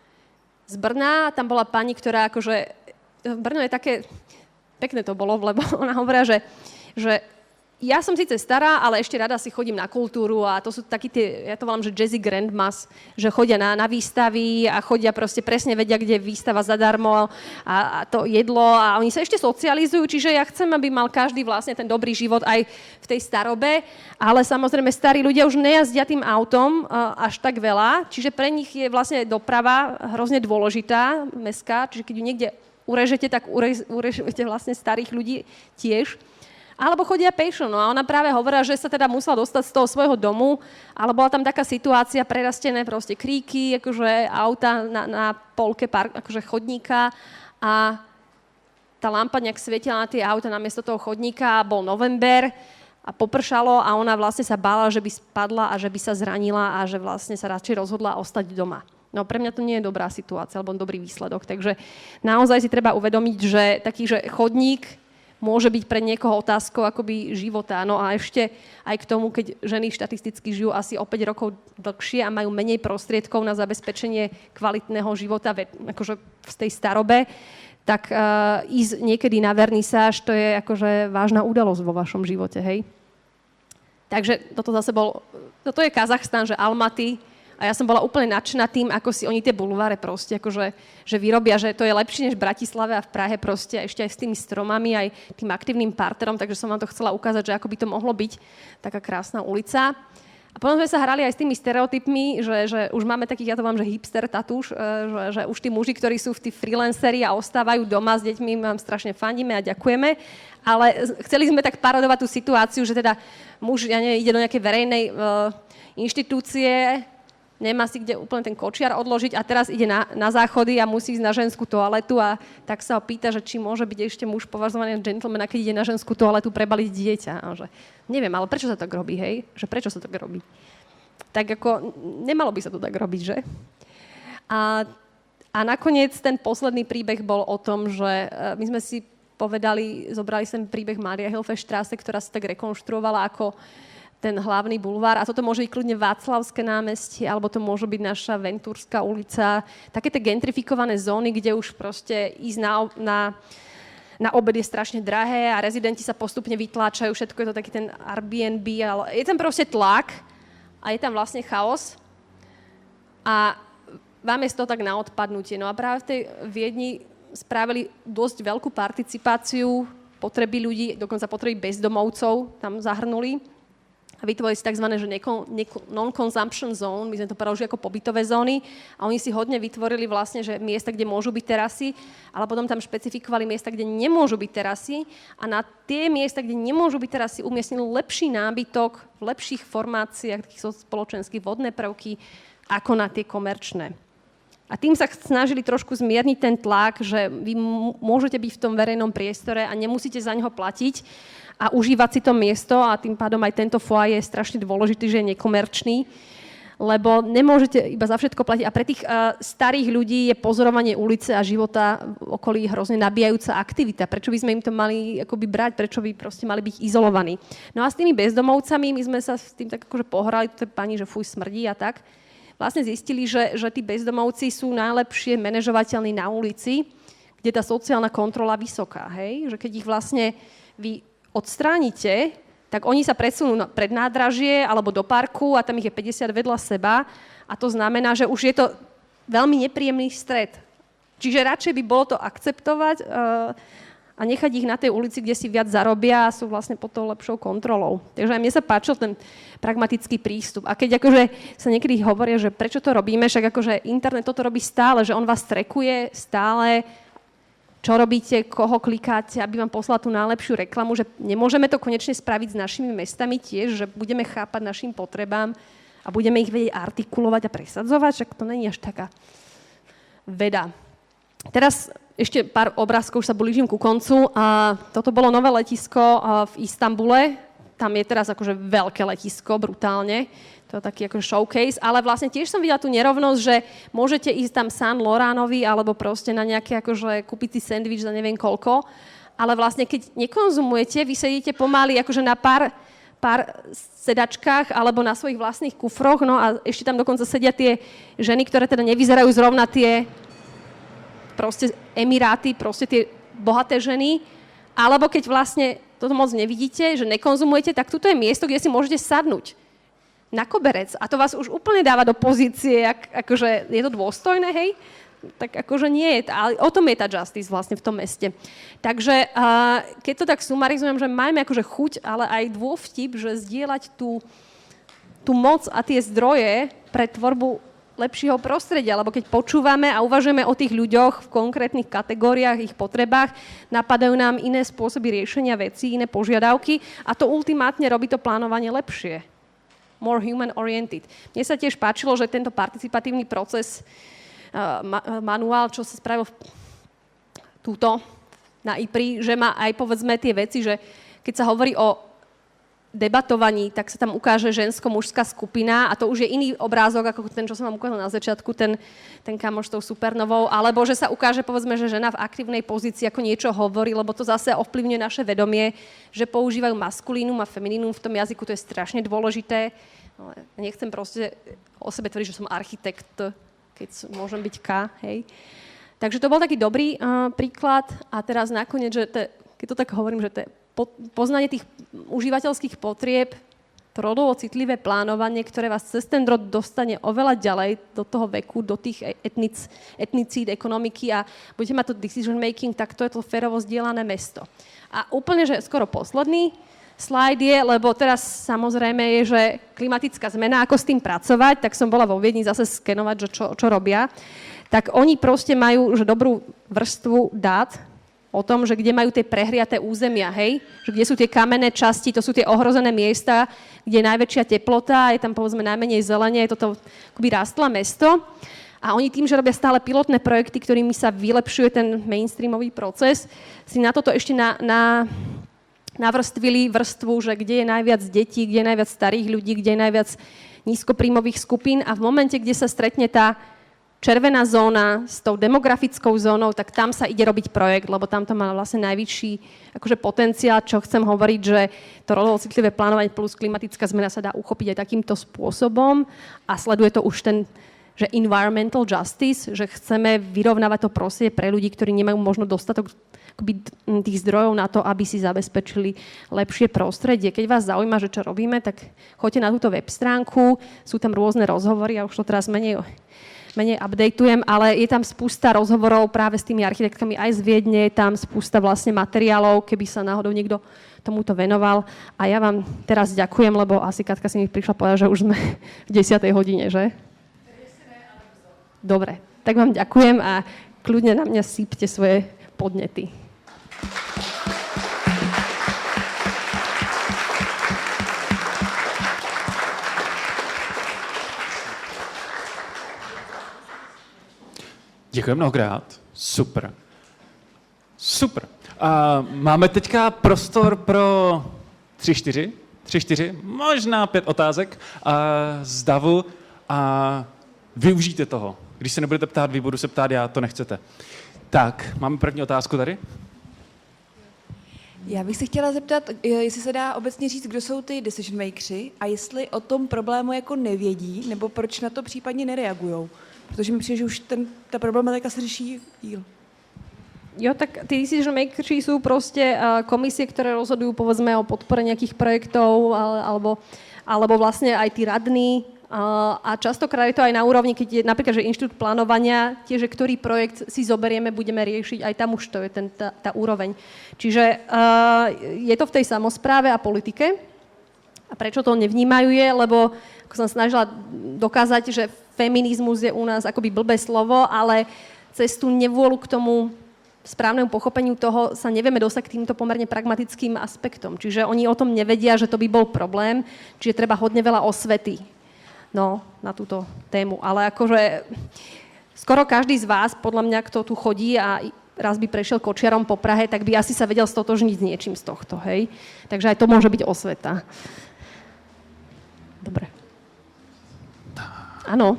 z Brna. Tam bola pani, ktorá akože... Brno je také... Pekné to bolo, lebo ona hovorila, že, že ja som síce stará, ale ešte rada si chodím na kultúru a to sú takí tie, ja to volám, že jazzy grandmas, že chodia na, na výstavy a chodia proste presne vedia, kde je výstava zadarmo a, a to jedlo a oni sa ešte socializujú, čiže ja chcem, aby mal každý vlastne ten dobrý život aj v tej starobe, ale samozrejme starí ľudia už nejazdia tým autom uh, až tak veľa, čiže pre nich je vlastne doprava hrozne dôležitá, mestská, čiže keď ju niekde urežete, tak urež, urežete vlastne starých ľudí tiež. Alebo chodia pešo, no a ona práve hovorila, že sa teda musela dostať z toho svojho domu, ale bola tam taká situácia, prerastené proste kríky, akože auta na, na polke park, akože chodníka a tá lampa nejak svietila na tie auta namiesto toho chodníka, bol november a popršalo a ona vlastne sa bála, že by spadla a že by sa zranila a že vlastne sa radšej rozhodla ostať doma. No pre mňa to nie je dobrá situácia, alebo dobrý výsledok, takže naozaj si treba uvedomiť, že taký, že chodník môže byť pre niekoho otázkou akoby života. No a ešte aj k tomu, keď ženy štatisticky žijú asi o päť rokov dlhšie a majú menej prostriedkov na zabezpečenie kvalitného života akože v tej starobe, tak uh, ísť niekedy na vernisáž, to je akože vážna udalosť vo vašom živote, hej. Takže toto zase bol, toto je Kazachstan, že Almaty, a ja som bola úplne nadšená tým, ako si oni tie bulváre proste akože, že vyrobia, že to je lepšie než v Bratislave a v Prahe proste, a ešte aj s tými stromami, aj tým aktívnym parterom, takže som vám to chcela ukázať, že ako by to mohlo byť taká krásna ulica. A potom sme sa hrali aj s tými stereotypmi, že, že už máme takých, ja to mám, že hipster tatúš, že, že už tí muži, ktorí sú v tí freelanceri a ostávajú doma s deťmi, vám strašne fandíme a ďakujeme. Ale chceli sme tak parodovať tú situáciu, že teda muž, ja neviem, ide do nejakej verejnej uh, inštitúcie, nemá si kde úplne ten kočiar odložiť a teraz ide na, na záchody a musí ísť na ženskú toaletu a tak sa ho pýta, že či môže byť ešte muž považovaný za gentlemana, keď ide na ženskú toaletu prebaliť dieťa. A že, neviem, ale prečo sa tak robí, hej? Že prečo sa tak robí? Tak ako, nemalo by sa to tak robiť, že? A, a nakoniec ten posledný príbeh bol o tom, že my sme si povedali, zobrali sem príbeh Maria Hilfestraße, ktorá sa tak rekonštruovala ako ten hlavný bulvár. A toto môže byť kľudne Václavské námestie, alebo to môže byť naša Ventúrská ulica. Také tie gentrifikované zóny, kde už proste ísť na, na, na obed je strašne drahé a rezidenti sa postupne vytláčajú. Všetko je to taký ten Airbnb. Ale je tam proste tlak a je tam vlastne chaos. A vám je z toho tak na odpadnutie. No a práve v tej Viedni spravili dosť veľkú participáciu potreby ľudí, dokonca potreby bezdomovcov tam zahrnuli. A vytvorili si tzv. Že non-consumption zone, my sme to preložili ako pobytové zóny a oni si hodne vytvorili vlastne, že miesta, kde môžu byť terasy, ale potom tam špecifikovali miesta, kde nemôžu byť terasy a na tie miesta, kde nemôžu byť terasy, umiestnili lepší nábytok v lepších formáciách, takých spoločenských vodné prvky, ako na tie komerčné. A tým sa snažili trošku zmierniť ten tlak, že vy môžete byť v tom verejnom priestore a nemusíte za neho platiť a užívať si to miesto a tým pádom aj tento foyer je strašne dôležitý, že je nekomerčný, lebo nemôžete iba za všetko platiť. A pre tých uh, starých ľudí je pozorovanie ulice a života v okolí hrozne nabíjajúca aktivita. Prečo by sme im to mali akoby brať? Prečo by proste mali byť izolovaní? No a s tými bezdomovcami my sme sa s tým tak akože pohrali, to je pani, že fuj, smrdí a tak. Vlastne zistili, že, že tí bezdomovci sú najlepšie manažovateľní na ulici, kde tá sociálna kontrola vysoká. Hej? Že keď ich vlastne vy odstránite, tak oni sa presunú pred nádražie alebo do parku a tam ich je päťdesiat vedľa seba a to znamená, že už je to veľmi nepríjemný stret. Čiže radšej by bolo to akceptovať uh, a nechať ich na tej ulici, kde si viac zarobia a sú vlastne pod tou lepšou kontrolou. Takže aj mne sa páčil ten pragmatický prístup. A keď akože sa niekedy hovoria, že prečo to robíme, však akože internet toto robí stále, že on vás trackuje stále, čo robíte, koho klikáte, aby vám poslal tú najlepšiu reklamu, že nemôžeme to konečne spraviť s našimi mestami tiež, že budeme chápať našim potrebám a budeme ich vedieť artikulovať a presadzovať, však to není až taká veda. Teraz ešte pár obrázkov, už sa blížim ku koncu. A toto bolo nové letisko v Istanbule. Tam je teraz akože veľké letisko, brutálne. To je taký akože showcase. Ale vlastne tiež som videla tú nerovnosť, že môžete ísť tam San Loránovi alebo proste na nejaké akože kúpiť si sendvič za neviem koľko. Ale vlastne keď nekonzumujete, vy sedíte pomaly akože na pár, pár sedačkách alebo na svojich vlastných kufroch. No a ešte tam dokonca sedia tie ženy, ktoré teda nevyzerajú zrovna tie proste Emiráty, proste tie bohaté ženy, alebo keď vlastne toto moc nevidíte, že nekonzumujete, tak tuto je miesto, kde si môžete sadnúť na koberec a to vás už úplne dáva do pozície, ak, akože je to dôstojné, hej? Tak akože nie je, ale o tom je tá justice vlastne v tom meste. Takže uh, keď to tak sumarizujem, že máme akože chuť, ale aj dôvtip, že zdieľať tú, tú moc a tie zdroje pre tvorbu lepšieho prostredia, lebo keď počúvame a uvažujeme o tých ľuďoch v konkrétnych kategóriách, ich potrebách, napadajú nám iné spôsoby riešenia vecí, iné požiadavky a to ultimátne robí to plánovanie lepšie. More human-oriented. Mne sa tiež páčilo, že tento participatívny proces, uh, ma- manuál, čo sa spravil v, túto na í pé er í, že má aj povedzme tie veci, že keď sa hovorí o debatovaní, tak sa tam ukáže žensko-mužská skupina a to už je iný obrázok ako ten, čo som vám ukázal na začiatku, ten, ten kamoš s tou supernovou, alebo že sa ukáže, povedzme, že žena v aktívnej pozícii ako niečo hovorí, lebo to zase ovplyvňuje naše vedomie, že používajú maskulínum a feminínum v tom jazyku, to je strašne dôležité. Ale nechcem proste o sebe tvrdiť, že som architekt, keď môžem byť K, hej. Takže to bol taký dobrý uh, príklad a teraz nakoniec, že te, keď to tak hovorím, že to je poznanie tých užívateľských potrieb, to rodovo citlivé plánovanie, ktoré vás cez ten rod dostane oveľa ďalej do toho veku, do tých etnic, etnicíd, ekonomiky a budete mať to decision making, tak to je to férovo zdieľané mesto. A úplne, že skoro posledný slajd je, lebo teraz samozrejme je, že klimatická zmena, ako s tým pracovať, tak som bola vo Viedni zase skenovať, že čo, čo robia. Tak oni proste majú že dobrú vrstvu dát o tom, že kde majú tie prehriaté územia, hej? Že kde sú tie kamenné časti, to sú tie ohrozené miesta, kde je najväčšia teplota, je tam povedzme najmenej zelenie, je toto akoby rastlé mesto. A oni tým, že robia stále pilotné projekty, ktorými sa vylepšuje ten mainstreamový proces, si na toto ešte na, na, navrstvili vrstvu, že kde je najviac detí, kde je najviac starých ľudí, kde je najviac nízkopríjmových skupín a v momente, kde sa stretne tá červená zóna s tou demografickou zónou, tak tam sa ide robiť projekt, lebo tam to má vlastne najvyšší akože potenciál, čo chcem hovoriť, že to rodovo citlivé plánovanie plus klimatická zmena sa dá uchopiť aj takýmto spôsobom a sleduje to už ten, že environmental justice, že chceme vyrovnávať to prostredie pre ľudí, ktorí nemajú možno dostatok akoby tých zdrojov na to, aby si zabezpečili lepšie prostredie. Keď vás zaujíma, že čo robíme, tak choďte na túto web stránku, sú tam rôzne rozhovory, ja už to teraz menej menej updateujem, ale je tam spústa rozhovorov práve s tými architektkami aj z Viedne, je tam spústa vlastne materiálov, keby sa náhodou niekto tomuto venoval. A ja vám teraz ďakujem, lebo asi Katka si mi prišla povedať, že už sme v desiatej hodine, že? Dobre, tak vám ďakujem a kľudne na mňa sypte svoje podnety. Děkuji mnohokrát. Super. Super. Uh, máme teďka prostor pro tři, čtyři, tři, čtyři, možná pět otázek uh, z davu a využijte toho. Když se nebudete ptát, vy budu se ptát, já to nechcete. Tak, máme první otázku tady. Já bych se chtěla zeptat, jestli se dá obecně říct, kdo jsou ty decision makersi a jestli o tom problému jako nevědí, nebo proč na to případně nereagujou. Protože mi přijde, že už ten, ta problematika se řeší díl. Jo, tak tí decision makersi sú proste uh, komisie, ktoré rozhodujú povedzme o podpore nejakých projektov ale, alebo, alebo vlastne aj tí radní uh, a častokrát je to aj na úrovni, keď je napríklad, že inštitút plánovania, tiež, ktorý projekt si zoberieme, budeme riešiť, aj tam už to je ten, tá, tá úroveň. Čiže uh, je to v tej samospráve a politike. A prečo to nevnímajú je, lebo ako som snažila dokázať, že feminizmus je u nás akoby blbé slovo, ale cez tú nevôľu k tomu správnemu pochopeniu toho sa nevieme dostať k týmto pomerne pragmatickým aspektom. Čiže oni o tom nevedia, že to by bol problém, čiže treba hodne veľa osvety no, na túto tému. Ale akože skoro každý z vás, podľa mňa, kto tu chodí a raz by prešiel kočiarom po Prahe, tak by asi sa vedel stotožniť s niečím z tohto, hej? Takže aj to môže byť osveta. Dobre. Áno.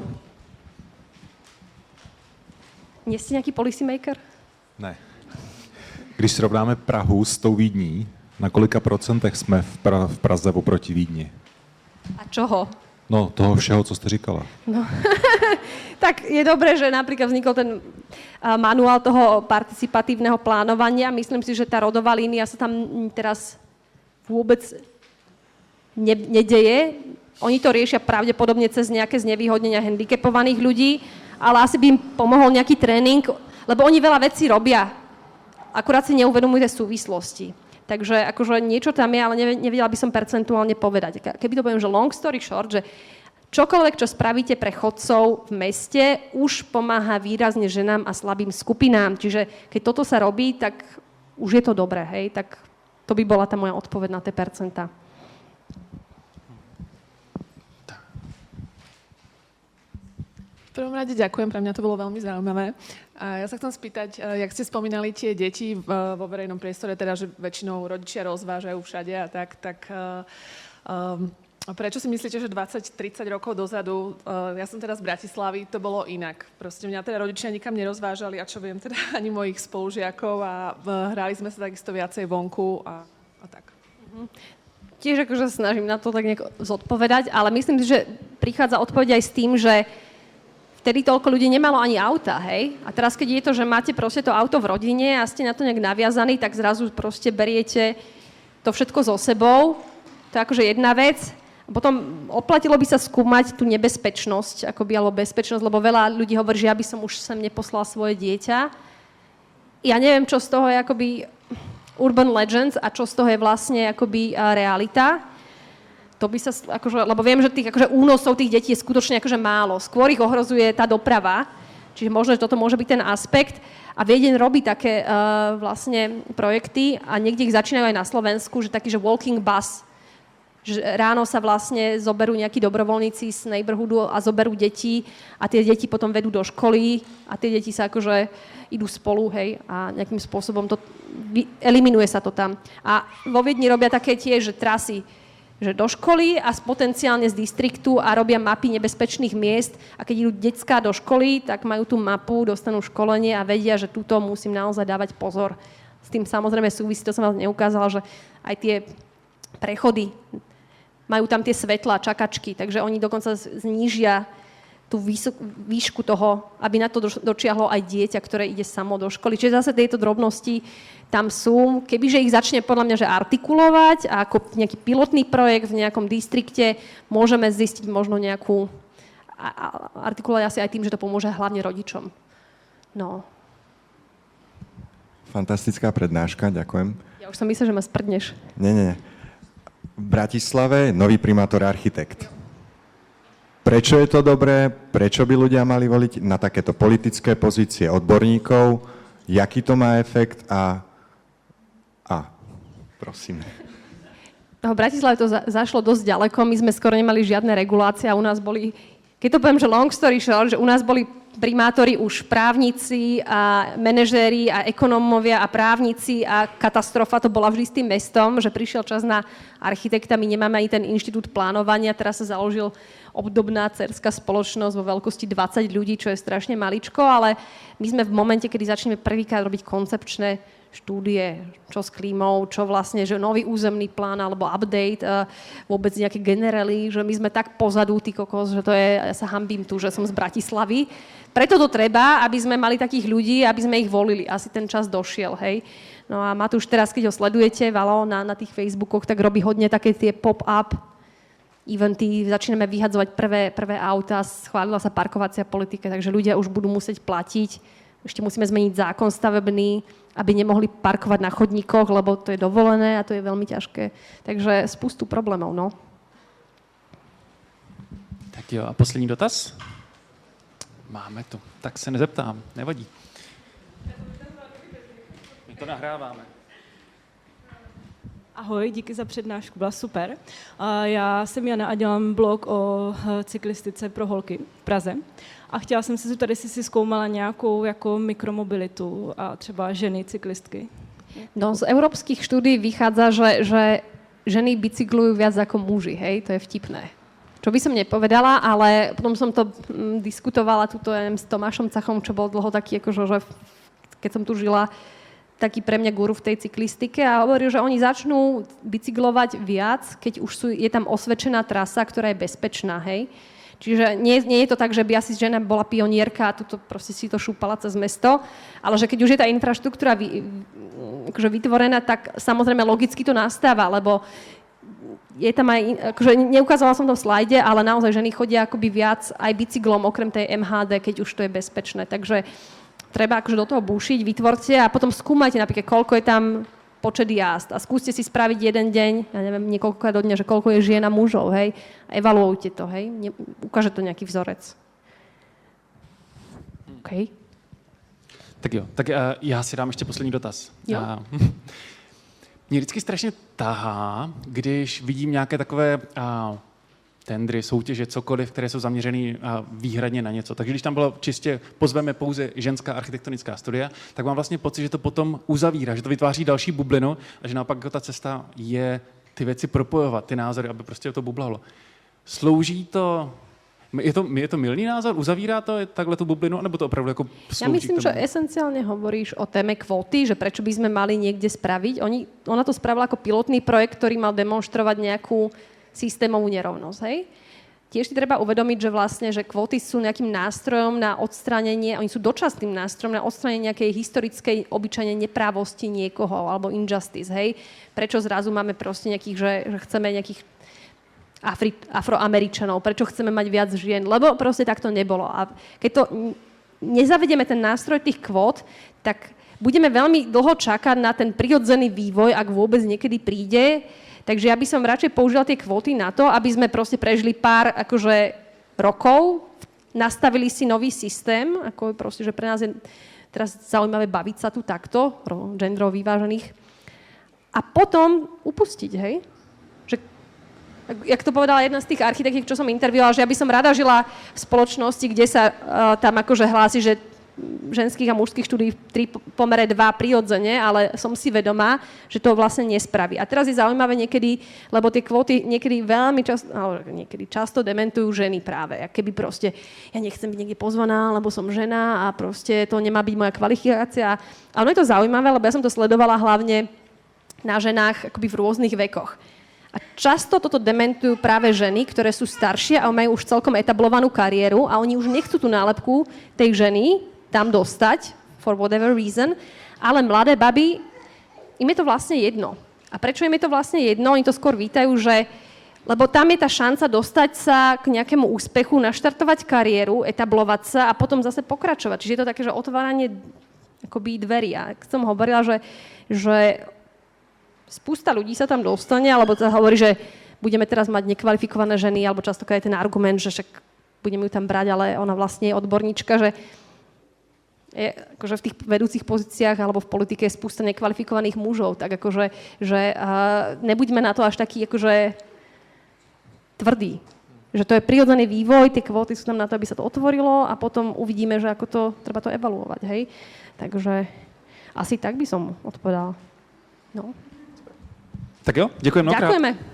Nie ste nejaký policy maker? Ne. Když srovnáme Prahu s tou Vídní, na kolika procentech jsme v, pra- v Praze oproti Vídni? A čoho? No, toho všeho, co jste říkala. No. Tak je dobré, že napríklad vznikol ten uh, manuál toho participatívneho plánovania. Myslím si, že tá rodová línia sa tam teraz vôbec ne- nedeje. Oni to riešia pravdepodobne cez nejaké znevýhodnenia handicapovaných ľudí, ale asi by im pomohol nejaký tréning, lebo oni veľa vecí robia. Akurát si neuvedomujú tie súvislosti. Takže akože niečo tam je, ale nevedela by som percentuálne povedať. Keby to poviem, že long story short, že čokoľvek, čo spravíte pre chodcov v meste, už pomáha výrazne ženám a slabým skupinám. Čiže keď toto sa robí, tak už je to dobré, hej? Tak to by bola tá moja odpoveď na tie percentá. V prvom rade ďakujem, pre mňa to bolo veľmi zaujímavé. A ja sa chcem spýtať, jak ste spomínali tie deti vo verejnom priestore, teda, že väčšinou rodičia rozvážajú všade a tak, tak um, prečo si myslíte, že dvadsať tridsať rokov dozadu, uh, ja som teda z Bratislavy, to bolo inak. Proste mňa teda rodičia nikam nerozvážali a čo viem teda ani mojich spolužiakov a uh, hrali sme sa takisto viacej vonku a, a tak. Mhm. Tiež akože snažím na to tak nejako zodpovedať, ale myslím si, že prichádza odpoveď aj s tým, že vtedy toľko ľudí nemalo ani auta, hej? A teraz, keď je to, že máte proste to auto v rodine a ste na to nejak naviazaní, tak zrazu proste beriete to všetko so sebou. To je akože jedna vec. A potom oplatilo by sa skúmať tú nebezpečnosť, akoby, alebo bezpečnosť, lebo veľa ľudí hovorí, že ja by som už sem neposlal svoje dieťa. Ja neviem, čo z toho je akoby urban legends a čo z toho je vlastne akoby realita. To by sa, akože, lebo viem, že tých akože únosov tých detí je skutočne akože málo. Skôr ich ohrozuje tá doprava, čiže možno, že toto môže byť ten aspekt. A Viedeň robí také uh, vlastne projekty a niekde ich začínajú aj na Slovensku, že taký, že walking bus. Že ráno sa vlastne zoberú nejakí dobrovoľníci z neighborhoodu a zoberú deti a tie deti potom vedú do školy a tie deti sa akože idú spolu, hej, a nejakým spôsobom to, eliminuje sa to tam. A vo Viedni robia také tiež, že trasy, že do školy a potenciálne z distriktu a robia mapy nebezpečných miest a keď idú decká do školy, tak majú tú mapu, dostanú školenie a vedia, že túto musím naozaj dávať pozor. S tým samozrejme súvisí, to som vám neukázala, že aj tie prechody, majú tam tie svetlá, čakačky, takže oni dokonca znížia tú výšku toho, aby na to dočiahlo aj dieťa, ktoré ide samo do školy. Čiže zase tieto drobnosti tam sú. Kebyže ich začne podľa mňa že artikulovať a ako nejaký pilotný projekt v nejakom distrikte, môžeme zistiť možno nejakú... A, a artikulovať asi aj tým, že to pomôže hlavne rodičom. No. Fantastická prednáška, ďakujem. Ja už som myslela, že ma sprdneš. Nie, nie. V Bratislave nový primátor architekt. Prečo je to dobré? Prečo by ľudia mali voliť na takéto politické pozície odborníkov? Jaký to má efekt? A, a prosím. V Bratislave to za, zašlo dosť ďaleko. My sme skoro nemali žiadne regulácie a u nás boli, keď to poviem, že long story short, že u nás boli primátori už právnici a manažéri a ekonómovia a právnici a katastrofa to bola vždy s tým mestom, že prišiel čas na architekta, my nemáme ani ten inštitút plánovania, teraz sa založil obdobná dcerská spoločnosť vo veľkosti dvadsať ľudí, čo je strašne maličko, ale my sme v momente, kedy začneme prvýkrát robiť koncepčné štúdie, čo s klímou, čo vlastne, že nový územný plán alebo update, vôbec nejaké generely, že my sme tak pozadu, ty kokos, že to je, ja sa hanbím tu, že som z Bratislavy. Preto to treba, aby sme mali takých ľudí, aby sme ich volili. Asi ten čas došiel, hej. No a Matúš teraz, keď ho sledujete, Valo, na, na tých Facebookoch, tak robí hodne také tie pop-up eventy, začíname vyhadzovať prvé, prvé auta, schválila sa parkovacia politika, takže ľudia už budú musieť platiť. Ešte musíme zmeniť zákon stavebný, aby nemohli parkovať na chodníkoch, lebo to je dovolené a to je veľmi ťažké. Takže spustu problémov, no. Tak jo, a poslední dotaz? Máme to. Tak se nezeptám, nevadí. My to nahráváme. Ahoj, díky za přednášku, byla super. Já jsem Jana a dělám blog o cyklistice pro holky v Praze. A chtěla jsem se zeptat, jestli si zkoumala nějakou jako mikromobilitu a třeba ženy cyklistky. No, z európskych štúdií vychádza, že, že ženy bicyklujú viac ako muži, hej, to je vtipné. Čo by som nepovedala, ale potom som to m, diskutovala tuto s Tomášom Cachom, čo bol dlho taký, akože, že keď som tu žila, taký pre mňa guru v tej cyklistike a hovoril, že oni začnú bicyklovať viac, keď už sú, je tam osvedčená trasa, ktorá je bezpečná, hej. Čiže nie, nie je to tak, že by asi žena bola pionierka a tuto proste si to šúpala cez mesto, ale že keď už je tá infraštruktúra vy, akože vytvorená, tak samozrejme logicky to nastáva, lebo je tam aj, akože neukázala som to v slajde, ale naozaj ženy chodia akoby viac aj bicyklom, okrem tej em há dé, keď už to je bezpečné. Takže treba akože do toho búšiť, vytvorte a potom skúmajte napríklad, koľko je tam počet jazd a skúste si spraviť jeden deň, ja neviem, niekoľkokrát do dňa, že koľko je žien a mužov, hej, a evaluujte to, hej, ne, ukáže to nejaký vzorec. OK. Tak jo, tak uh, já si dám ještě poslední dotaz. Jo. Uh, mě vždycky strašně tahá, když vidím nějaké takové uh, tendry, soutěže, cokoliv, které jsou zaměřený uh, výhradně na něco. Takže když tam bylo čistě, pozveme pouze ženská architektonická studia, tak mám vlastně pocit, že to potom uzavírá, že to vytváří další bublinu a že naopak ta cesta je ty věci propojovat, ty názory, aby prostě to bublalo. Slouží to... Je to, je to mylný názor? Uzavírá to takhle tú bublinu? Nebo to opravdu ako slúži? Ja myslím, že esenciálne hovoríš o téme kvóty, že prečo by sme mali niekde spraviť. Oni, ona to spravila ako pilotný projekt, ktorý mal demonštrovať nejakú systémovú nerovnosť. Hej? Tiež si treba uvedomiť, že vlastne, že kvóty sú nejakým nástrojom na odstránenie, oni sú dočasným nástrojom na odstránenie nejakej historickej obyčajnej neprávosti niekoho, alebo injustice. Hej? Prečo zrazu máme proste nejakých, že, že chceme nejakých Afri- Afroameričanov, prečo chceme mať viac žien, lebo proste tak to nebolo. A keď to nezavedieme ten nástroj tých kvót, tak budeme veľmi dlho čakať na ten prirodzený vývoj, ak vôbec niekedy príde. Takže ja by som radšej použila tie kvóty na to, aby sme proste prežili pár akože rokov, nastavili si nový systém, ako proste, že pre nás je teraz zaujímavé baviť sa tu takto, genderovo vyvážených, a potom upustiť, hej? Že, jak to povedala jedna z tých architektiek, čo som intervjuovala, že ja by som rada žila v spoločnosti, kde sa uh, tam akože hlási, že ženských a mužských štúdií v tri pomere dva prirodzene, ale som si vedomá, že to vlastne nespraví. A teraz je zaujímavé niekedy, lebo tie kvóty niekedy veľmi často, ale niekedy často dementujú ženy práve. A keby proste, ja nechcem byť niekde pozvaná, lebo som žena a proste to nemá byť moja kvalifikácia. A ono je to zaujímavé, lebo ja som to sledovala hlavne na ženách akoby v rôznych vekoch. A často toto dementujú práve ženy, ktoré sú staršie a majú už celkom etablovanú kariéru a oni už nechcú tú nálepku tej ženy tam dostať, for whatever reason, ale mladé baby, im je to vlastne jedno. A prečo im je to vlastne jedno? Oni to skôr vítajú, že lebo tam je tá šanca dostať sa k nejakému úspechu, naštartovať kariéru, etablovať sa a potom zase pokračovať. Čiže je to také, že otváranie akoby dverí. A som hovorila, že, že spústa ľudí sa tam dostane, alebo sa hovorí, že budeme teraz mať nekvalifikované ženy, alebo častokrát je ten argument, že však budeme ju tam brať, ale ona vlastne je odborníčka, že je, akože v tých vedúcich pozíciách alebo v politike je spústa nekvalifikovaných mužov, tak akože že, uh, nebuďme na to až taký akože tvrdý. Že to je prirodzený vývoj, tie kvóty sú tam na to, aby sa to otvorilo a potom uvidíme, že ako to, treba to evaluovať, hej. Takže asi tak by som odpovedala. No. Tak jo, děkujeme mnohokrát. Ďakujeme.